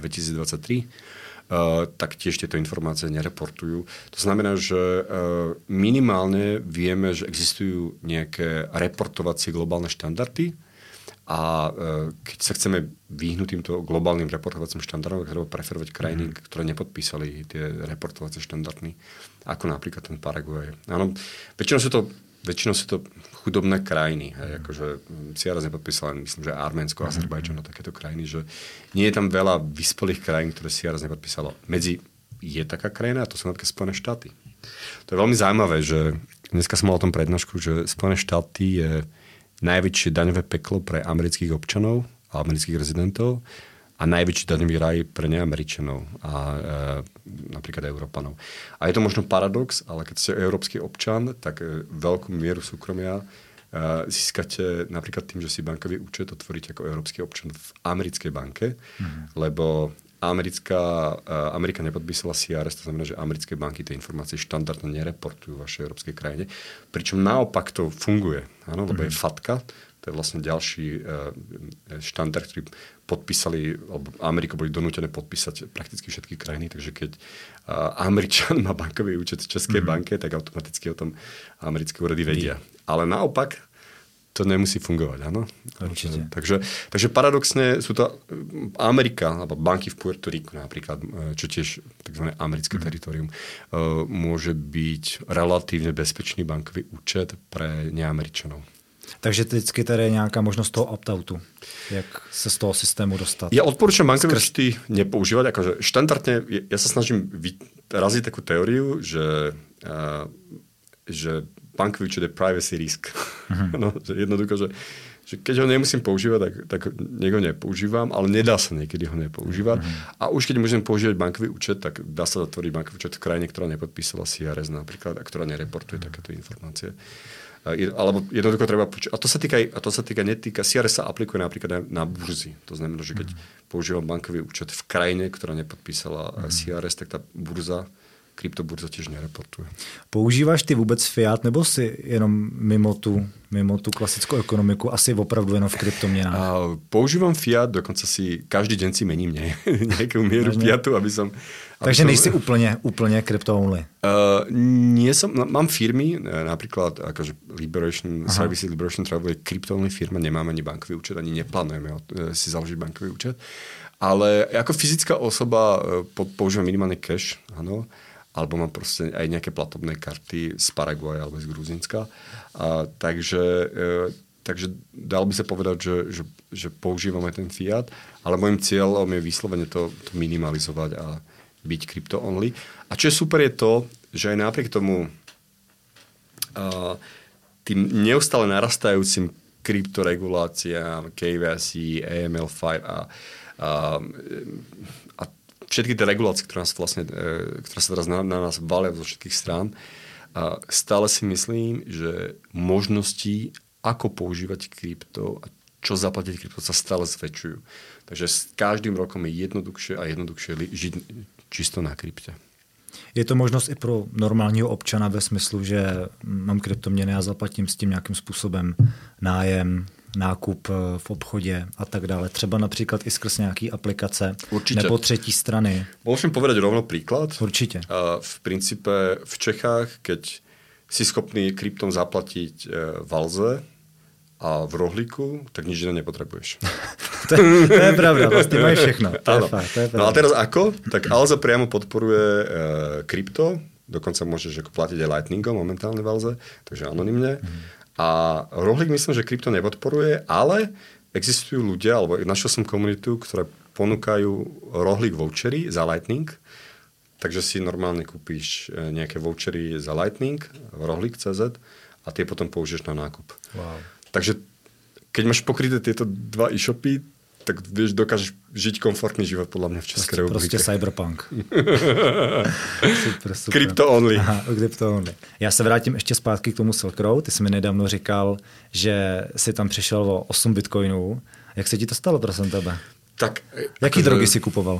Speaker 4: 2023, tak tiež tieto informácie nereportujú. To znamená, že minimálne vieme, že existujú nejaké reportovacie globálne štandardy, a keď sa chceme vyhnúť týmto globálnym reportovacím štandardom, treba preferovať krajiny, ktoré nepodpísali tie reportovacie štandardy, ako napríklad ten Paraguay. Áno, väčšinou sú to chudobné krajiny. Hej, akože CRS nepodpísala, myslím, že Arménsko, Azerbajdžan a takéto krajiny, že nie je tam veľa vyspelých krajín, ktoré CRS nepodpísalo. Je taká krajina, a to sú napríklad Spojené štáty. To je veľmi zaujímavé, že dneska som mal o tom prednášku, že Spojené štáty je najväčšie daňové peklo pre amerických občanov a amerických rezidentov a najväčší daňový raj pre neameričanov a napríklad Európanov. A je to možno paradox, ale keď ste európsky občan, tak veľkú mieru súkromia získate napríklad tým, že si bankový účet otvoríte ako európsky občan v americkej banke, lebo Amerika nepodpísala CRS, to znamená, že americké banky tie informácie štandardne nereportujú v vašej európskej krajine. Pričom naopak to funguje, áno, lebo je FATCA, to je vlastne ďalší štandard, ktorý podpísali, alebo Amerika boli donútené podpísať prakticky všetky krajiny, takže keď Američan má bankový účet v Českej banke, tak automaticky o tom americké úrady vedia. Ale naopak to nemusí fungovat, ano?
Speaker 1: Určitě.
Speaker 4: Takže paradoxne sú to Amerika, alebo banky v Puerto Riku napríklad, čo tiež takzvané americké teritorium, môže byť relatívne bezpečný bankový účet pre neameričanov.
Speaker 3: Takže vždycky tady je nějaká možnost toho opt-outu, jak se z toho systému dostat.
Speaker 4: Ja odporúčam bankové účty nepoužívať. Akože štandardne, ja sa snažím raziť takú teóriu, že bankový účet je privacy risk. No, že jednoducho, že keď ho nemusím používať, tak nech ho nepoužívam, ale nedá sa niekedy ho nepoužívať. A už keď môžem používať bankový účet, tak dá sa zatvoriť bankový účet v krajine, ktorá nepodpísala CRS napríklad a ktorá nereportuje takéto informácie. Alebo jednoducho treba počuť. A to sa netýka, CRS sa aplikuje napríklad na burzy. To znamená, že keď používam bankový účet v krajine, ktorá nepodpísala CRS, tak tá burza, kryptoburza tiež nereportuje.
Speaker 3: Používáš ty vůbec fiat, nebo si jenom mimo tu klasickou ekonomiku, asi opravdu jenom v kryptoměnách?
Speaker 4: Používam fiat, dokonca si každý deň si mením nejakú mieru fiatu, aby som...
Speaker 3: Takže nejsi úplne crypto-only?
Speaker 4: Nie som, mám firmy, napríklad akože Liberation Services, Liberation Travel je crypto-only firma, nemáme ani bankový účet, ani neplánujeme si založiť bankový účet, ale ako fyzická osoba používam minimálne cash, áno, alebo mám proste aj nejaké platobné karty z Paraguaja alebo z Gruzínska. Takže dal by sa povedať, že používame ten fiat, ale môjim cieľom je vyslovene to minimalizovať a byť crypto-only. A čo je super je to, že aj napriek tomu tým neustále narastajúcim kryptoreguláciám, KYC, AML5 a všetky tie regulácie, ktoré sa teraz na nás valia zo všetkých strán, stále si myslím, že možnosti, ako používať krypto a čo zaplatiť krypto, sa stále zväčšujú. Takže s každým rokom je jednoduchšie a jednoduchšie žiť čisto na krypte.
Speaker 3: Je to možnost i pro normálního občana ve smyslu, že mám kryptoměny a zaplatím s tím nějakým způsobem nájem, nákup v obchodě a tak dále. Třeba například i skrz nějaký aplikace.
Speaker 4: Určite.
Speaker 3: Nebo třetí strany.
Speaker 4: Môžem povedať rovno príklad?
Speaker 3: Určite.
Speaker 4: V princípe v Čechách, keď si schopný kryptom zaplatiť v Alze a v Rohlíku, tak nič iné nepotrebuješ.
Speaker 3: to je pravda, vlastne máš všechno. To je pravda.
Speaker 4: No a teraz ako? Tak Alza priamo podporuje krypto, dokonca môžeš platiť aj Lightningom momentálne v Alze, takže anonymne. A Rohlík myslím, že krypto nepodporuje, ale existujú ľudia, alebo našiel som komunitu, ktoré ponúkajú Rohlík vouchery za Lightning, takže si normálne kúpiš nejaké vouchery za Lightning v Rohlík.cz a tie potom použiješ na nákup.
Speaker 3: Wow.
Speaker 4: Takže keď máš pokryté tieto dva e-shopy, tak vieš, dokážeš žiť komfortný život podľa mňa v Českej republike.
Speaker 3: Prostě cyberpunk. super.
Speaker 4: Crypto only.
Speaker 3: Aha, crypto only. Já se vrátím ještě zpátky k tomu Silk Road. Ty jsi mi nedávno říkal, že jsi tam přišel o 8 bitcoinů. Jak se ti to stalo, prosím tebe?
Speaker 4: Tak,
Speaker 3: jaký drogy si kupoval?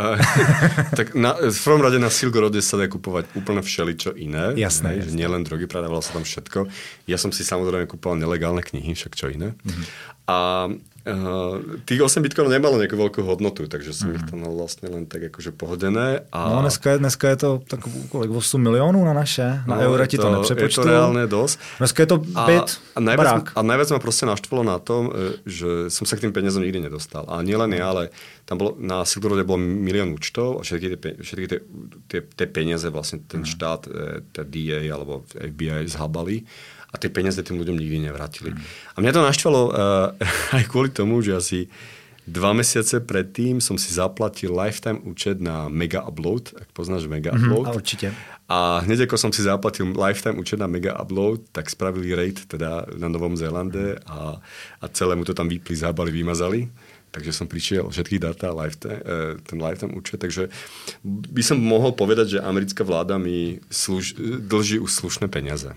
Speaker 4: Tak v prvom rade na Silk Roade sa dá kupovať úplne všeličo iné.
Speaker 3: Jasné.
Speaker 4: Že nielen drogy, predávalo sa tam všetko. Ja som si samozrejme kupoval nelegálne knihy, však čo iné. A tých 8 bitcoinov nemalo nejakú veľkú hodnotu, takže som ich tam vlastne len tak akože pohodené.
Speaker 3: No dneska je to tak kolik 8 milionů na naše, na eura ti to nepřepočtu.
Speaker 4: Je to reálne dosť.
Speaker 3: Dneska je to byt, barák.
Speaker 4: A najviac ma proste naštvalo na tom, že som sa k tým peniazom nikdy nedostal. A nielen ja, ale tam bolo, na Silk Roade bolo 1 milión účtov a všetky tie peniaze vlastne ten štát, tá DA alebo FBI zhabali. A tie peniaze tým ľuďom nikdy nevrátili. A mňa to naštvalo aj kvôli tomu, že asi 2 mesiace predtým som si zaplatil lifetime účet na Mega Upload, ak poznáš Mega Upload.
Speaker 3: A určite.
Speaker 4: A hneď ako som si zaplatil lifetime účet na Mega Upload, tak spravili raid teda na Novom Zélande a celému to tam vypli, zábali, vymazali. Takže som prišiel všetky data, ten lifetime účet. Takže by som mohol povedať, že americká vláda mi dlží už slušné peniaze.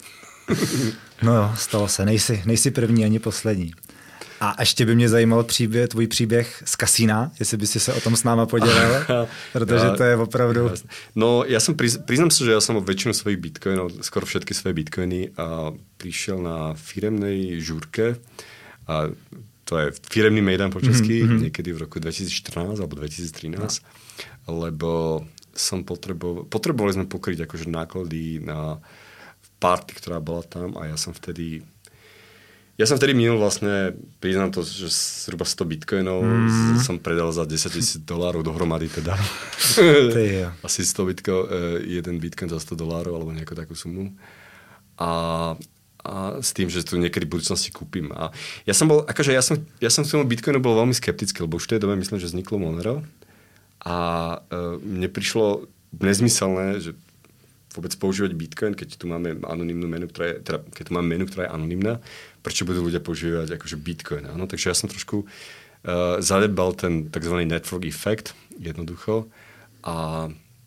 Speaker 3: No jo, stalo se. Nejsi první ani poslední. A ještě by mě zajímal tvůj příběh z kasína, jestli by si se o tom s náma podělil, protože to je opravdu...
Speaker 4: No, ja som priznám sa, že ja som o väčšinu svojich bitcoinov, skoro všetky svoje bitcoiny prišiel na firemnej žúrke. A to je firemný mejdan po česky, niekedy v roku 2014 alebo 2013, lebo potrebovali sme pokryť akože náklady na party, ktorá bola tam a ja som vtedy Ja som vtedy minul vlastne, priznám to, že zhruba 100 bitcoinov som predal za $10,000 dohromady teda. Asi 100 bitcoin, jeden bitcoin za $100 alebo nejakú takú sumu. A s tým, že to niekedy v budúcnosti kúpim. A ja som k tomu bitcoinu bol veľmi skeptický, lebo už v tej dobe myslím, že vzniklo Monero. A mne prišlo nezmyselné, že vôbec používať bitcoin, keď tu máme anonymnú menu, keď tu máme menu, ktorá je anonymná, prečo budú ľudia používať akože bitcoin. Áno? Takže ja som trošku zanedbal ten tzv. Network effect, jednoducho, a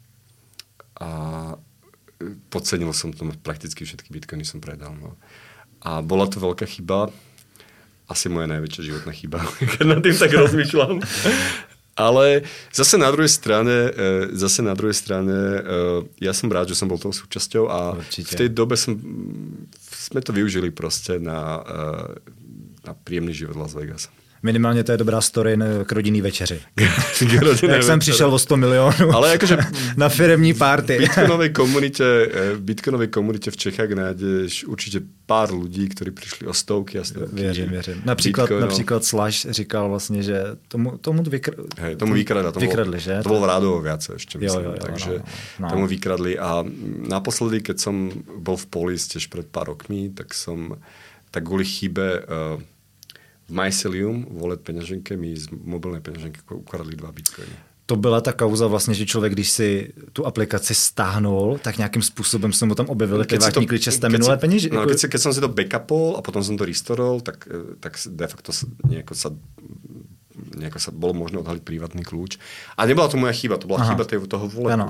Speaker 4: podcenil som to, prakticky všetky bitcoiny som predal. No. A bola to veľká chyba, asi moja najväčšia životná chyba, keď nad tým tak rozmýšľam. Ale zase na druhej strane ja som rád, že som bol toho súčasťou a v tej dobe sme to využili proste na príjemný život Las Vegas.
Speaker 3: Minimálně to je dobrá story k rodinný večeři. Jak jsem přišel o 100 milionů ale jakože na firemní party.
Speaker 4: V bitcoinovej komunite v Čechách nájdeš určitě pár lidí, kteří přišli o stovky a stovky.
Speaker 3: Věřím. Například Slash říkal vlastně, že tomu vykradli, že?
Speaker 4: To bylo v Rádovo viacej ešte, myslím. Takže tomu vykradli a naposledy, keď som bol v Polis tiež pred pár rokmi, tak kvôli chybe v Mycelium, wallet peněženke, mi z mobilné peněženky ukradli 2 bitcoiny.
Speaker 3: To byla ta kauza vlastně, že člověk, když si tu aplikaci stáhnul, tak nějakým způsobem se mu tam objevily privátní klíče z té minulé peněženky.
Speaker 4: No, keď som si to backupol a potom som to restorol, tak de facto nejako sa bolo možné odhaliť privátny kľúč. A nebola to moja chyba, to bola chyba toho walletu.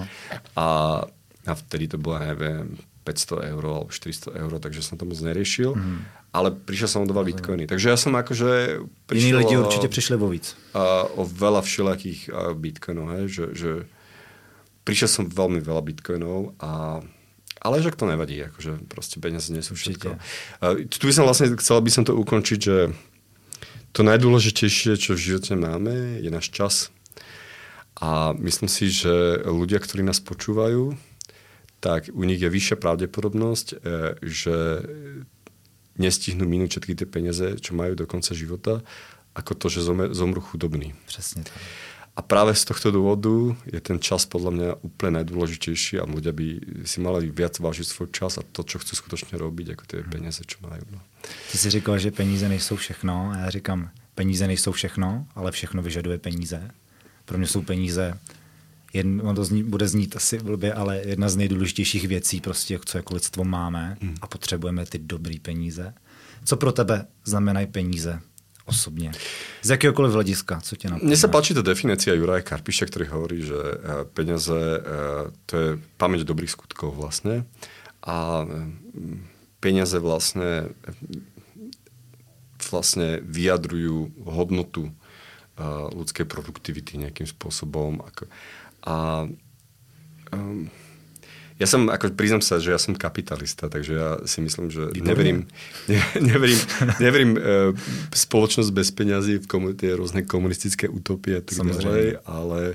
Speaker 4: A vtedy to bola, neviem, 500 € alebo 400 €, takže som to moc neriešil. Ale prišiel som o 2 bitcoiny. Takže ja som akože...
Speaker 3: Iní lidi určite prišli vo víc.
Speaker 4: O veľa všelakých bitcoinov, že prišiel som veľmi veľa bitcoinov, ale že to nevadí, akože proste peniaze nie sú všetko. Tu by som vlastne, chcel by som to ukončiť, že to najdôležitejšie, čo v živote máme, je náš čas. A myslím si, že ľudia, ktorí nás počúvajú, tak u nich je vyššia pravdepodobnosť, že nestihnú minúť všetky tie peniaze, čo majú do konca života, ako to, že zomru chudobní.
Speaker 3: Presne tak.
Speaker 4: A práve z tohto dôvodu je ten čas podľa mňa úplne najdôležitejší a ľudia by si mali viac vážiť svoj čas a to, čo chcú skutočne robiť, ako tie peniaze, čo majú. No.
Speaker 3: Ty si říkal, že peníze nejsou všechno a já říkám, peníze nejsou všechno, ale všechno vyžaduje peníze. Pro mě jsou peníze on to bude znít asi blbě, ale jedna z nejdůležitějších věcí, prostě, co jako lidstvo máme a potřebujeme ty dobrý peníze. Co pro tebe znamenají peníze osobně? Z jakéhokoliv hlediska, co tě napadá?
Speaker 4: Mne sa páči tá definícia Juraja Karpiša, ktorý hovorí, že peniaze to je pamäť dobrých skutkov vlastne a peniaze vlastne vyjadrujú hodnotu ľudskej produktivity nejakým spôsobom. Ja som, ako priznám sa, že ja som kapitalista, takže ja si myslím, že neverím spoločnosť bez peňazí v tie rôzne komunistické utopie a tak ďalej, ale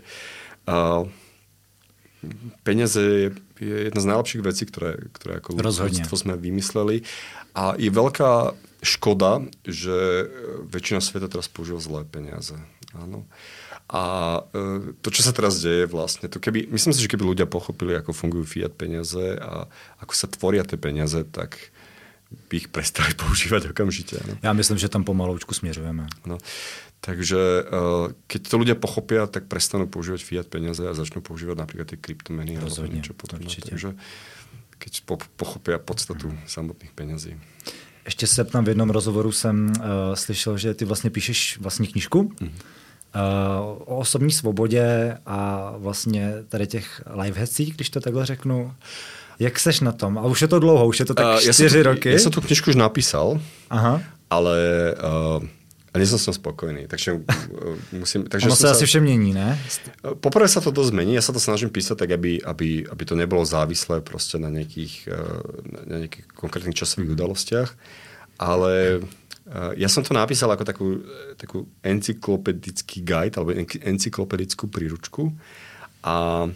Speaker 4: peniaze je jedna z najlepších vecí, ktoré ako ľudstvo sme vymysleli a je veľká škoda, že väčšina sveta teraz používa zlé peniaze. Áno. A to, čo sa teraz deje vlastne, myslím si, že keby ľudia pochopili, ako fungujú fiat peniaze a ako sa tvoria tie peniaze, tak by ich prestali používať okamžite. No.
Speaker 3: Ja myslím, že tam pomaloučku směřujeme.
Speaker 4: No. Takže keď to ľudia pochopia, tak prestanú používať fiat peniaze a začnú používať napríklad tie kryptomeny.
Speaker 3: Rozhodne,
Speaker 4: takže keď pochopia podstatu samotných peňazí.
Speaker 3: Ještě se tam v jednom rozhovoru jsem slyšel, že ty vlastně píšeš vlastní knížku. O osobní svobodě a vlastně tady těch lifehacksích, když to takhle řeknu. Jak seš na tom? A už je to dlouho, už je to tak 4 roky.
Speaker 4: Ja som tú knižku už napísal, ale nie som s ňou spokojný. Takže musím...
Speaker 3: Ono sa asi vše mění, ne?
Speaker 4: Poprvé sa to dosť zmení. Ja sa to snažím písať tak, aby to nebolo závislé proste na nejakých konkrétnych časových udalostiach. Ale ja som to napísal ako takú encyklopedický guide alebo encyklopedickú príručku a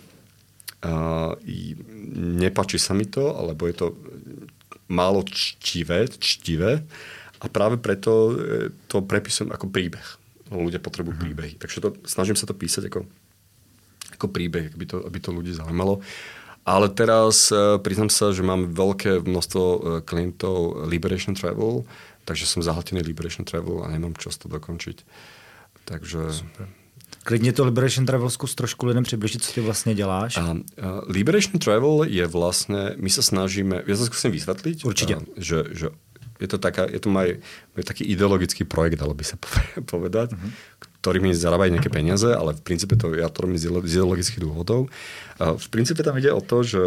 Speaker 4: nepáči sa mi to, alebo je to málo čtivé A práve preto to prepisujem ako príbeh. Ľudia potrebujú príbehy. Takže snažím sa to písať ako príbeh, aby to ľudí zaujímalo. Ale teraz priznám sa, že mám veľké množstvo klientov Liberation Travel, takže som zahltený Liberation Travel a nemám čas to dokončiť. Takže... Super.
Speaker 3: Klidně to Liberation Travel zkus trošku lidem přibližit, co ty vlastně děláš.
Speaker 4: Liberation Travel je vlastně, my se snažíme, já to zkusím vysvětlit.
Speaker 3: Určitě.
Speaker 4: Že je to môj taký ideologický projekt, dalo by sa povedať, ktorý mi zarábajú nejaké peniaze, ale v princípe ja to robím z ideologických dôvodov. V princípe tam ide o to, že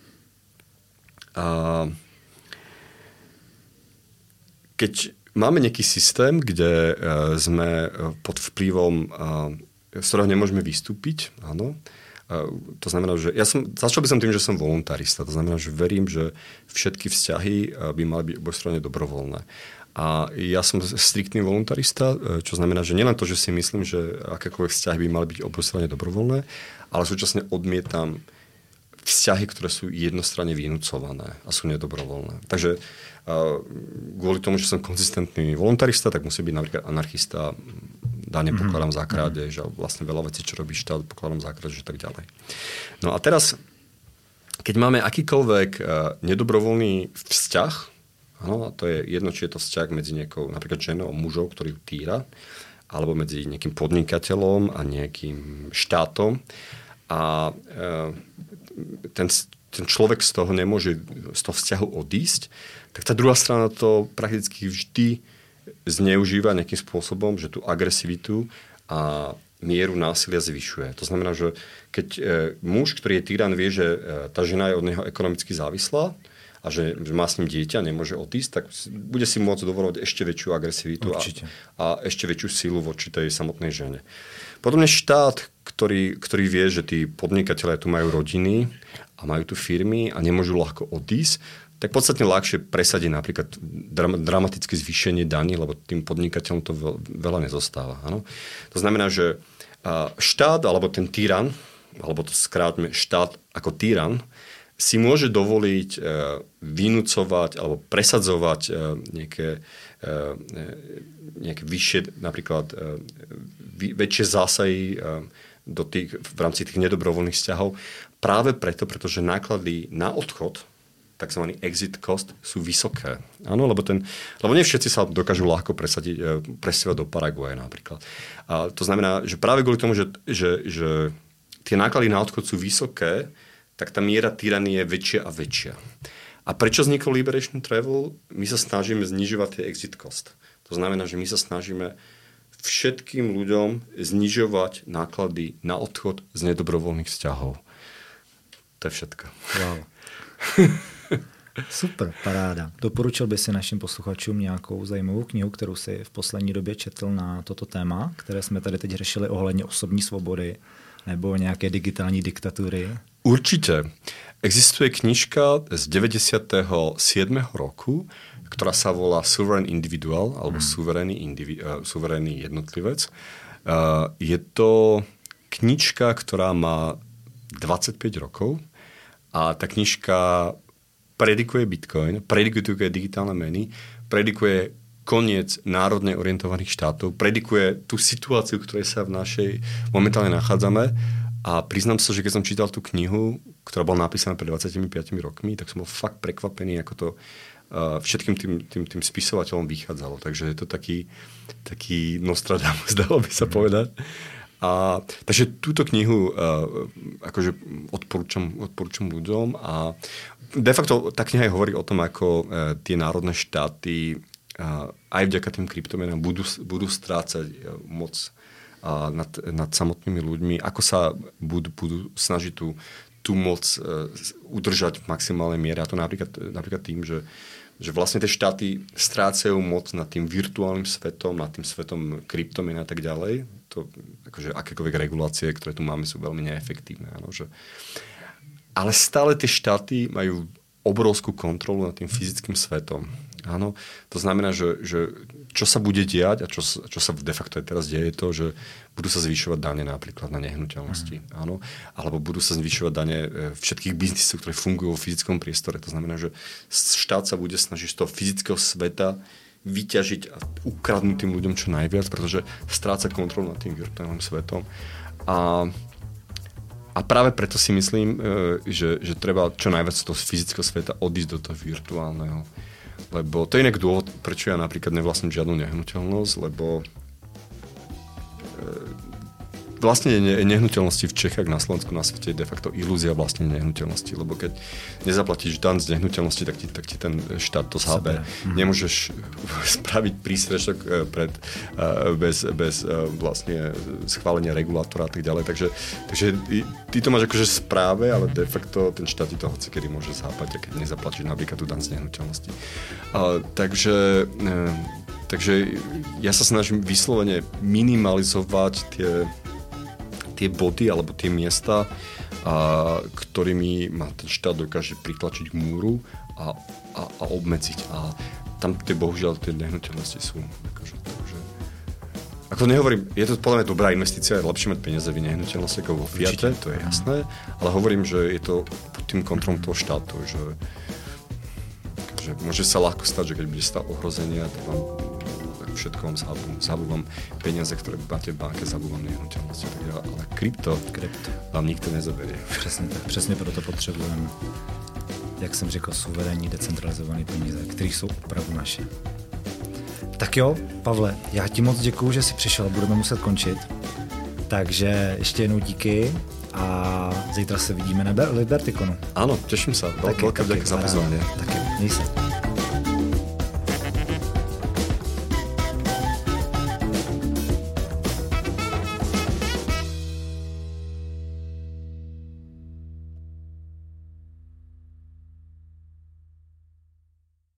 Speaker 4: keď máme nejaký systém, kde sme pod vplyvom, z ktorého nemôžeme vystúpiť, áno, to znamená, že začal by som tým, že som voluntarista. To znamená, že verím, že všetky vzťahy by mali byť obojstranne dobrovoľné. A ja som striktný voluntarista, čo znamená, že nielen to, že si myslím, že akékoľvek vzťahy by mali byť obojstranne dobrovoľné, ale súčasne odmietam vzťahy, ktoré sú jednostranne vynúcované a sú nedobrovoľné. Takže kvôli tomu, že som konzistentný voluntarista, tak musí byť napríklad anarchista, dane pokladám za krádež a vlastne veľa vecí, čo robí štát, pokladám za krádež a tak ďalej. No a teraz, keď máme akýkoľvek nedobrovoľný vzťah, áno, a to je jedno, či je to vzťah medzi nejakou napríklad ženou a mužou, ktorý ju týra, alebo medzi nejakým podnikateľom a nejakým štátom a ten človek z toho nemôže z toho vzťahu odísť, tak tá druhá strana to prakticky vždy zneužíva nejakým spôsobom, že tú agresivitu a mieru násilia zvyšuje. To znamená, že keď muž, ktorý je tyran, vie, že tá žena je od neho ekonomicky závislá a že má s ním dieťa, nemôže odísť, tak bude si môcť dovolovať ešte väčšiu agresivitu a ešte väčšiu silu voči tej samotnej žene. Podobne štát, ktorý vie, že tí podnikatelia tu majú rodiny a majú tu firmy a nemôžu ľahko odísť, tak podstatne ľahšie presadí napríklad dramatické zvýšenie daní, lebo tým podnikateľom to veľa nezostáva. Áno? To znamená, že štát alebo ten tyran, alebo to skrátme štát ako tyran, si môže dovoliť vynúcovať alebo presadzovať nejaké vyššie, napríklad väčšie zásahy v rámci tých nedobrovoľných vzťahov práve pretože náklady na odchod, takzvaný exit cost, sú vysoké. Áno, lebo nie všetci sa dokážu ľahko presťahovať do Paraguaje napríklad. A to znamená, že práve kvôli tomu, že tie náklady na odchod sú vysoké, tak tá miera tyranie je väčšia a väčšia. A prečo vznikol Liberation Travel? My sa snažíme znižovať tie exit cost. To znamená, že my sa snažíme všetkým ľuďom znižovať náklady na odchod z nedobrovoľných vzťahov. To je všetko.
Speaker 3: Wow. Super, paráda. Doporučil by si našim posluchačům nějakou zajímavou knihu, kterou si v poslední době četl na toto téma, které jsme tady teď řešili ohledně osobní svobody nebo nějaké digitální diktatury? Určite.
Speaker 4: Existuje knižka z 97. roku, ktorá sa volá Sovereign Individual, alebo suverénny jednotlivec. Je to knižka, ktorá má 25 rokov a tá knižka predikuje Bitcoin, predikuje digitálne meny, predikuje koniec národne orientovaných štátov, predikuje tú situáciu, v ktorej sa v našej momentálne nachádzame. A priznám sa, že keď som čítal tú knihu, ktorá bola napísaná pred 25 rokmi, tak som bol fakt prekvapený, ako to všetkým tým spisovateľom vychádzalo. Takže je to taký Nostradamus, dalo by sa povedať. Takže túto knihu akože odporúčam ľuďom a de facto tá kniha hovorí o tom, ako tie národné štáty aj vďaka tým kryptomenám budú strácať moc nad samotnými ľuďmi, ako sa budú snažiť tú moc udržať v maximálnej miere. A to napríklad tým, že vlastne tie štáty strácajú moc nad tým virtuálnym svetom, nad tým svetom kryptomien a tak ďalej. To, akože akékoľvek regulácie, ktoré tu máme, sú veľmi neefektívne. Áno, ale stále tie štáty majú obrovskú kontrolu nad tým fyzickým svetom. Áno, to znamená, že čo sa bude diať a čo sa de facto aj teraz deje, je to, že budú sa zvyšovať dane napríklad na nehnuteľnosti. Áno, alebo budú sa zvyšovať dane všetkých biznisov, ktoré fungujú vo fyzickom priestore. To znamená, že štát sa bude snažiť z toho fyzického sveta vyťažiť a ukradnúť tým ľuďom čo najviac, pretože stráca kontrolu nad tým virtuálnym svetom. A práve preto si myslím, že treba čo najviac z toho fyzického sveta odísť do toho virtuálneho. Lebo to je inak dôvod, prečo ja napríklad nevlastním žiadnu nehnuteľnosť, lebo vlastne nehnuteľnosti v Čechách, na Slovensku, na svete je de facto ilúzia vlastne nehnuteľnosti, lebo keď nezaplatíš daň z nehnuteľnosti, tak ti ten štát to zhábe. Nemôžeš spraviť prístrešok bez vlastne schválenia regulátora a tak ďalej. Takže ty to máš akože správe, ale de facto ten štát ti to hocikedy môže zhábať, keď nezaplatíš napríklad tú daň z nehnuteľnosti. Takže ja sa snažím vyslovene minimalizovať tie body alebo tie miesta, ktorými ma ten štát dokáže pritlačiť k múru a obmedziť. A tam bohužiaľ tie nehnuteľnosti sú. Takže, ako nehovorím, je to podľa mňa dobrá investícia, je lepšie mať peniaze v nehnuteľnosti ako vo Fiate, to je jasné, ale hovorím, že je to pod tým kontrolom toho štátu, že môže sa ľahko stať, že keď bude stav ohrozenia, tak vám všetko vám zhabú vám peniaze, ktoré máte v banke, zhabú vám nehnuteľnosti. Ale krypto vám nikto nezaberie.
Speaker 3: Přesně proto potřebujeme, jak jsem řekl, suverénní, decentralizované peníze, které jsou opravdu naše. Tak jo, Pavle, já ti moc děkuju, že jsi přišel, budeme muset končit. Takže ještě jednou díky a zítra se vidíme na Libertikonu.
Speaker 4: Áno, teším sa. Veľká vďaka za pozvanie.
Speaker 3: Taky, měj se.